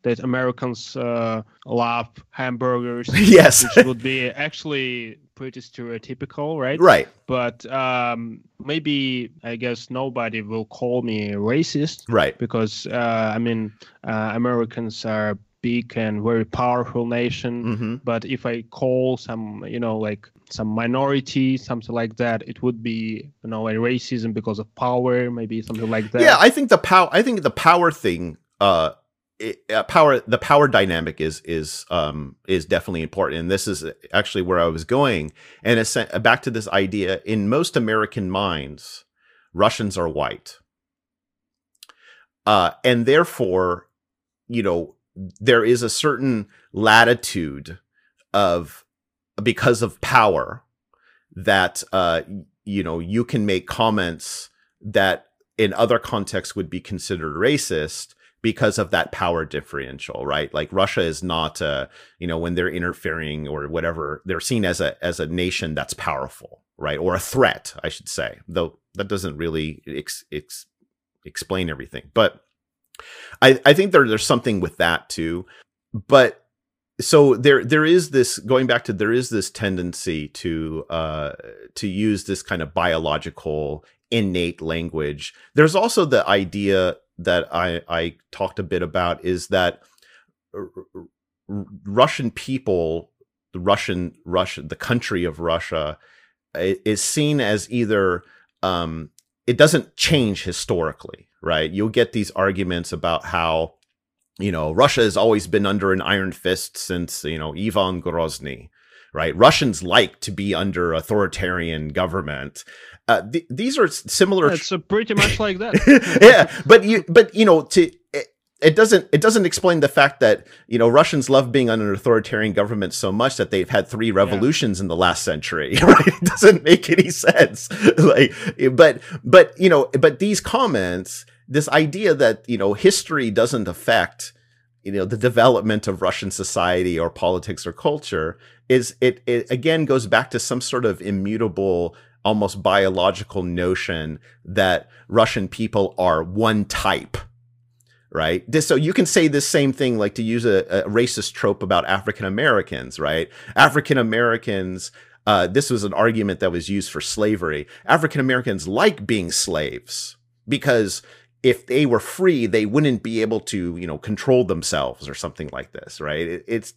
Speaker 3: that Americans love hamburgers.
Speaker 2: Yes.
Speaker 3: Which would be actually pretty stereotypical, right?
Speaker 2: Right.
Speaker 3: But maybe, I guess, nobody will call me racist.
Speaker 2: Right.
Speaker 3: Because, Americans are big and very powerful nation.
Speaker 2: Mm-hmm.
Speaker 3: But if I call some, like some minority, something like that, it would be, a racism because of power, maybe something like that.
Speaker 2: Yeah, I think the power thing, the power dynamic is definitely important, and this is actually where I was going. And it's back to this idea: in most American minds, Russians are white, and therefore, there is a certain latitude because of power that you can make comments that in other contexts would be considered racist because of that power differential, right? Like Russia is not, when they're interfering or whatever, they're seen as a nation that's powerful, right? Or a threat, I should say, though that doesn't really explain everything. But I think there's something with that too. But so there is this, going back to, there is this tendency to use this kind of biological innate language. There's also the idea that I talked a bit about, is that Russian people, the country of Russia, is seen as either it doesn't change historically, right? You'll get these arguments about how Russia has always been under an iron fist since Ivan Grozny, right? Russians like to be under authoritarian government. These are similar.
Speaker 3: It's pretty much like that.
Speaker 2: Yeah, it doesn't explain the fact that Russians love being under an authoritarian government so much that they've had 3 revolutions in the last century. Right? It doesn't make any sense. But these comments, this idea that history doesn't affect the development of Russian society or politics or culture, it again goes back to some sort of immutable, almost biological notion that Russian people are one type, right? So you can say this same thing, like to use a racist trope about African Americans, right? African Americans, this was an argument that was used for slavery. African Americans like being slaves because if they were free, they wouldn't be able to, control themselves or something like this, right? It's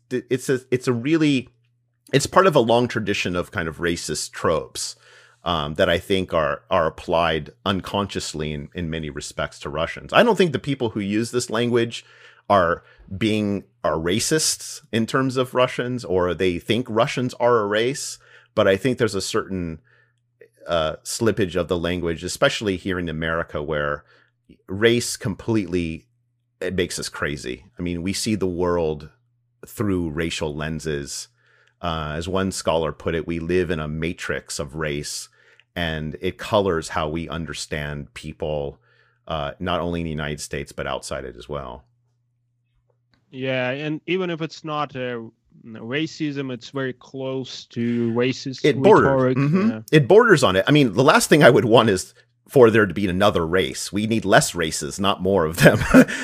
Speaker 2: part of a long tradition of kind of racist tropes that I think are applied unconsciously in many respects to Russians. I don't think the people who use this language are racists in terms of Russians, or they think Russians are a race, but I think there's a certain slippage of the language, especially here in America, where race completely, it makes us crazy. I mean, we see the world through racial lenses. As one scholar put it, we live in a matrix of race, and it colors how we understand people, not only in the United States, but outside it as well.
Speaker 3: Yeah, and even if it's not racism, it's very close to racist.
Speaker 2: It borders. Mm-hmm. Yeah. It borders on it. I mean, the last thing I would want is for there to be another race. We need less races, not more of them.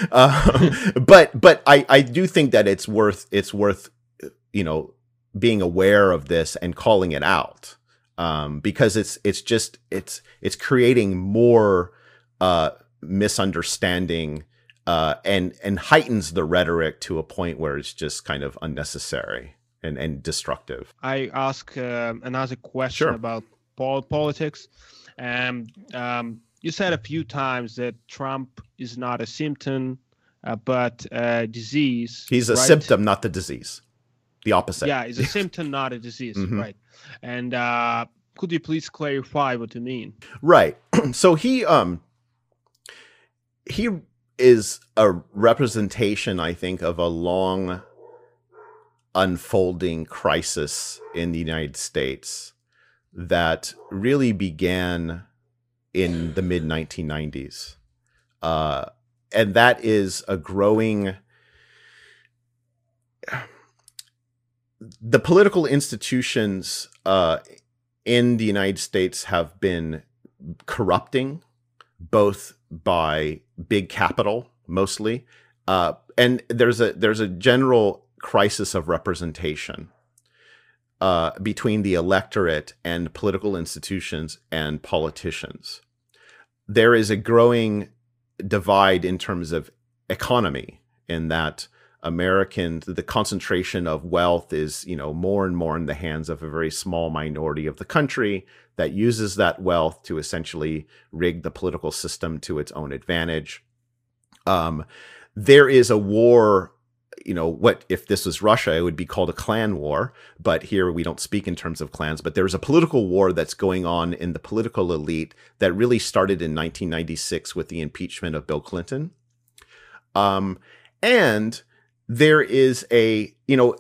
Speaker 2: But I do think that it's worth being aware of this and calling it out, because it's creating more misunderstanding and heightens the rhetoric to a point where it's just kind of unnecessary and destructive.
Speaker 3: I ask another question about politics. You said a few times that Trump is not a symptom, but a disease.
Speaker 2: He's a symptom, not the disease. The opposite.
Speaker 3: Yeah, it's a symptom, not a disease. Mm-hmm. Right. And could you please clarify what you mean?
Speaker 2: Right. So he is a representation, I think, of a long unfolding crisis in the United States that really began in the mid-1990s. And that is a growing... The political institutions in the United States have been corrupting, both by big capital, mostly, And there's a general crisis of representation between the electorate and political institutions and politicians. There is a growing divide in terms of economy, in that the concentration of wealth is, more and more in the hands of a very small minority of the country that uses that wealth to essentially rig the political system to its own advantage. There is a war, what if this was Russia, it would be called a clan war. But here we don't speak in terms of clans, but there's a political war that's going on in the political elite that really started in 1996 with the impeachment of Bill Clinton. And there is a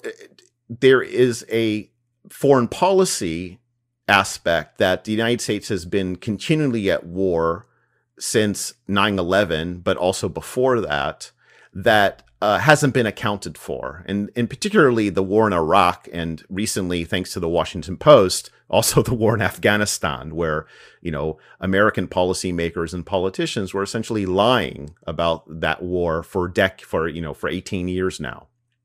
Speaker 2: foreign policy aspect that the United States has been continually at war since 9/11, but also before that hasn't been accounted for. And particularly the war in Iraq, and recently, thanks to the Washington Post, also the war in Afghanistan, where, American policymakers and politicians were essentially lying about that war for 18 years now.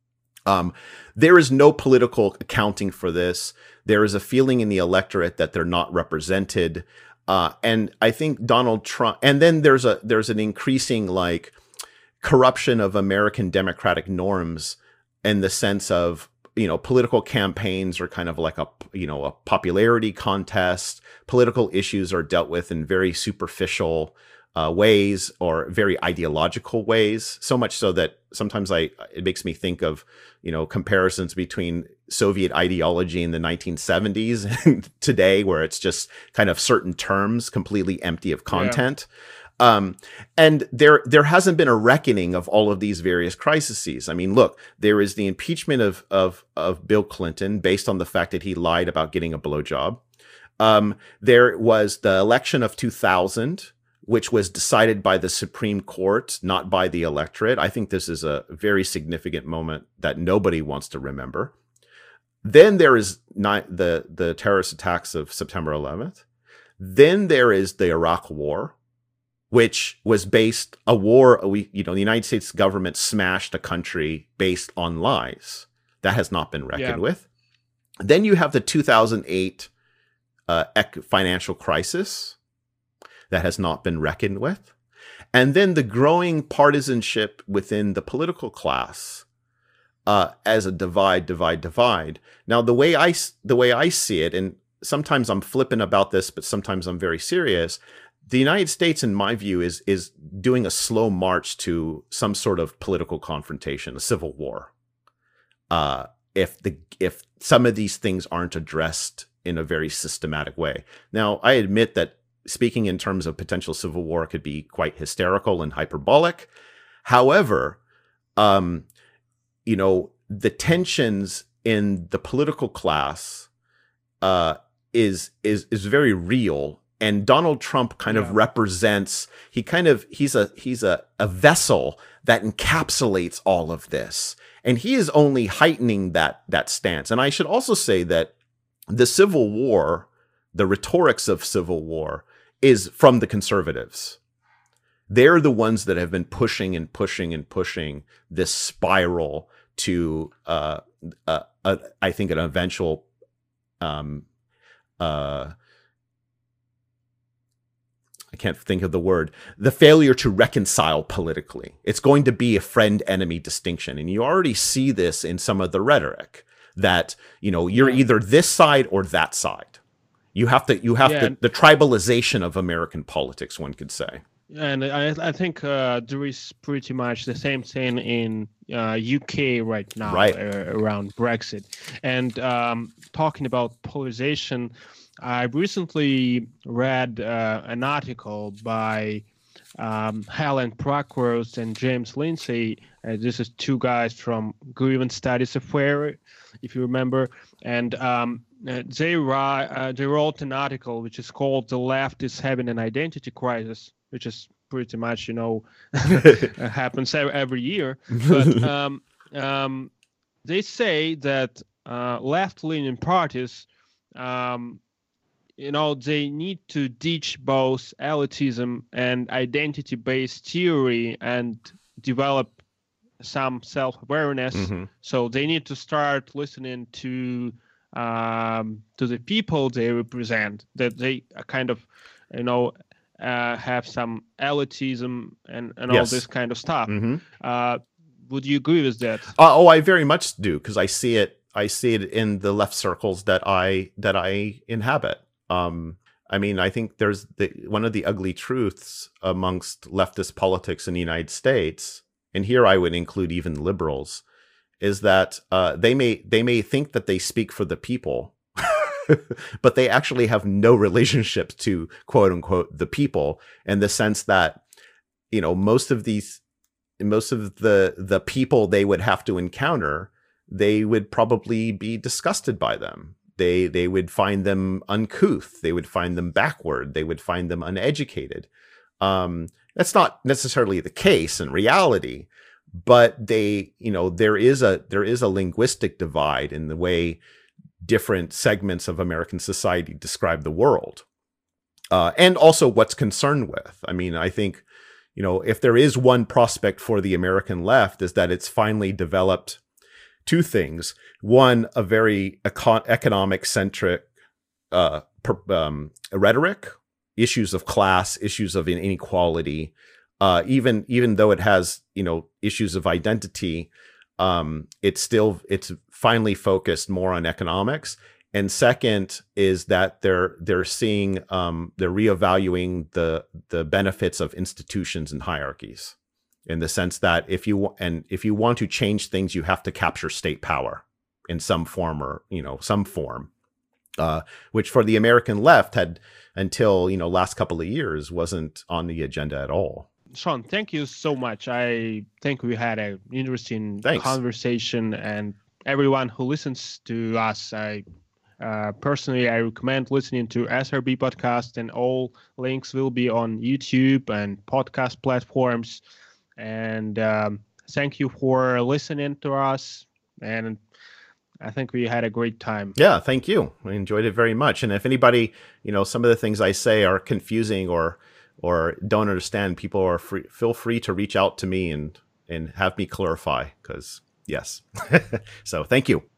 Speaker 2: There is no political accounting for this. There is a feeling in the electorate that they're not represented. And I think Donald Trump, and then there's an increasing corruption of American democratic norms, in the sense of, political campaigns are kind of like a popularity contest. Political issues are dealt with in very superficial ways, or very ideological ways. So much so that sometimes it makes me think of, comparisons between Soviet ideology in the 1970s and today, where it's just kind of certain terms completely empty of content. Yeah. And there hasn't been a reckoning of all of these various crises. I mean, look, there is the impeachment of Bill Clinton based on the fact that he lied about getting a blowjob. There was the election of 2000, which was decided by the Supreme Court, not by the electorate. I think this is a very significant moment that nobody wants to remember. Then there is the terrorist attacks of September 11th. Then there is the Iraq War, which was the United States government smashed a country based on lies. That has not been reckoned with. Then you have the 2008 financial crisis. That has not been reckoned with. And then the growing partisanship within the political class as a divide. Now, the way I see it, and sometimes I'm flippant about this, but sometimes I'm very serious, the United States, in my view, is doing a slow march to some sort of political confrontation, a civil war. If some of these things aren't addressed in a very systematic way. Now, I admit that speaking in terms of potential civil war could be quite hysterical and hyperbolic. However, the tensions in the political class is very real. And Donald Trump kind of represents, he's a vessel that encapsulates all of this. And he is only heightening that stance. And I should also say that the Civil War, the rhetorics of civil war, is from the conservatives. They're the ones that have been pushing this spiral to, I think, an eventual, I can't think of the word, the failure to reconcile politically. It's going to be a friend-enemy distinction. And you already see this in some of the rhetoric that, you're either this side or that side. You have the tribalization of American politics, one could say.
Speaker 3: And I think there is pretty much the same thing in UK right now, around Brexit. And talking about polarization, I recently read an article by Helen Prakros and James Lindsay. This is two guys from Grievance Studies Affair, if you remember. And they wrote an article which is called "The Left is Having an Identity Crisis," which is pretty much, happens every year. But they say that left-leaning parties, they need to ditch both elitism and identity-based theory and develop some self-awareness. So they need to start listening to the people they represent, that they are kind of, have some elitism and all
Speaker 2: Yes.
Speaker 3: this kind of stuff. Would you agree with that?
Speaker 2: Oh, I very much do, because I see it. I see it in the left circles that I inhabit. I mean, I think there's one of the ugly truths amongst leftist politics in the United States, and here I would include even liberals, is that they may think that they speak for the people, but they actually have no relationship to quote unquote the people, in the sense that, most of the people they would have to encounter, they would probably be disgusted by them. They would find them uncouth. They would find them backward. They would find them uneducated. That's not necessarily the case in reality, but there is a linguistic divide in the way different segments of American society describe the world, and also what's concerned with. I mean, I think, if there is one prospect for the American left, is that it's finally developed two things. One, a very economic-centric rhetoric, issues of class, issues of inequality, even though it has, issues of identity, it's finally focused more on economics. And second is that they're seeing, they're reevaluating the benefits of institutions and hierarchies, in the sense that if you want to change things, you have to capture state power in some form, or some form, which for the American left had, until last couple of years, wasn't on the agenda at all.
Speaker 3: Sean, thank you so much. I think we had an interesting conversation, and everyone who listens to us, personally, I recommend listening to SRB podcast, and all links will be on YouTube and podcast platforms. And thank you for listening to us. And I think we had a great time.
Speaker 2: Yeah, thank you. I enjoyed it very much. And if anybody, some of the things I say are confusing or don't understand, people are feel free to reach out to me and have me clarify, because yes. So thank you.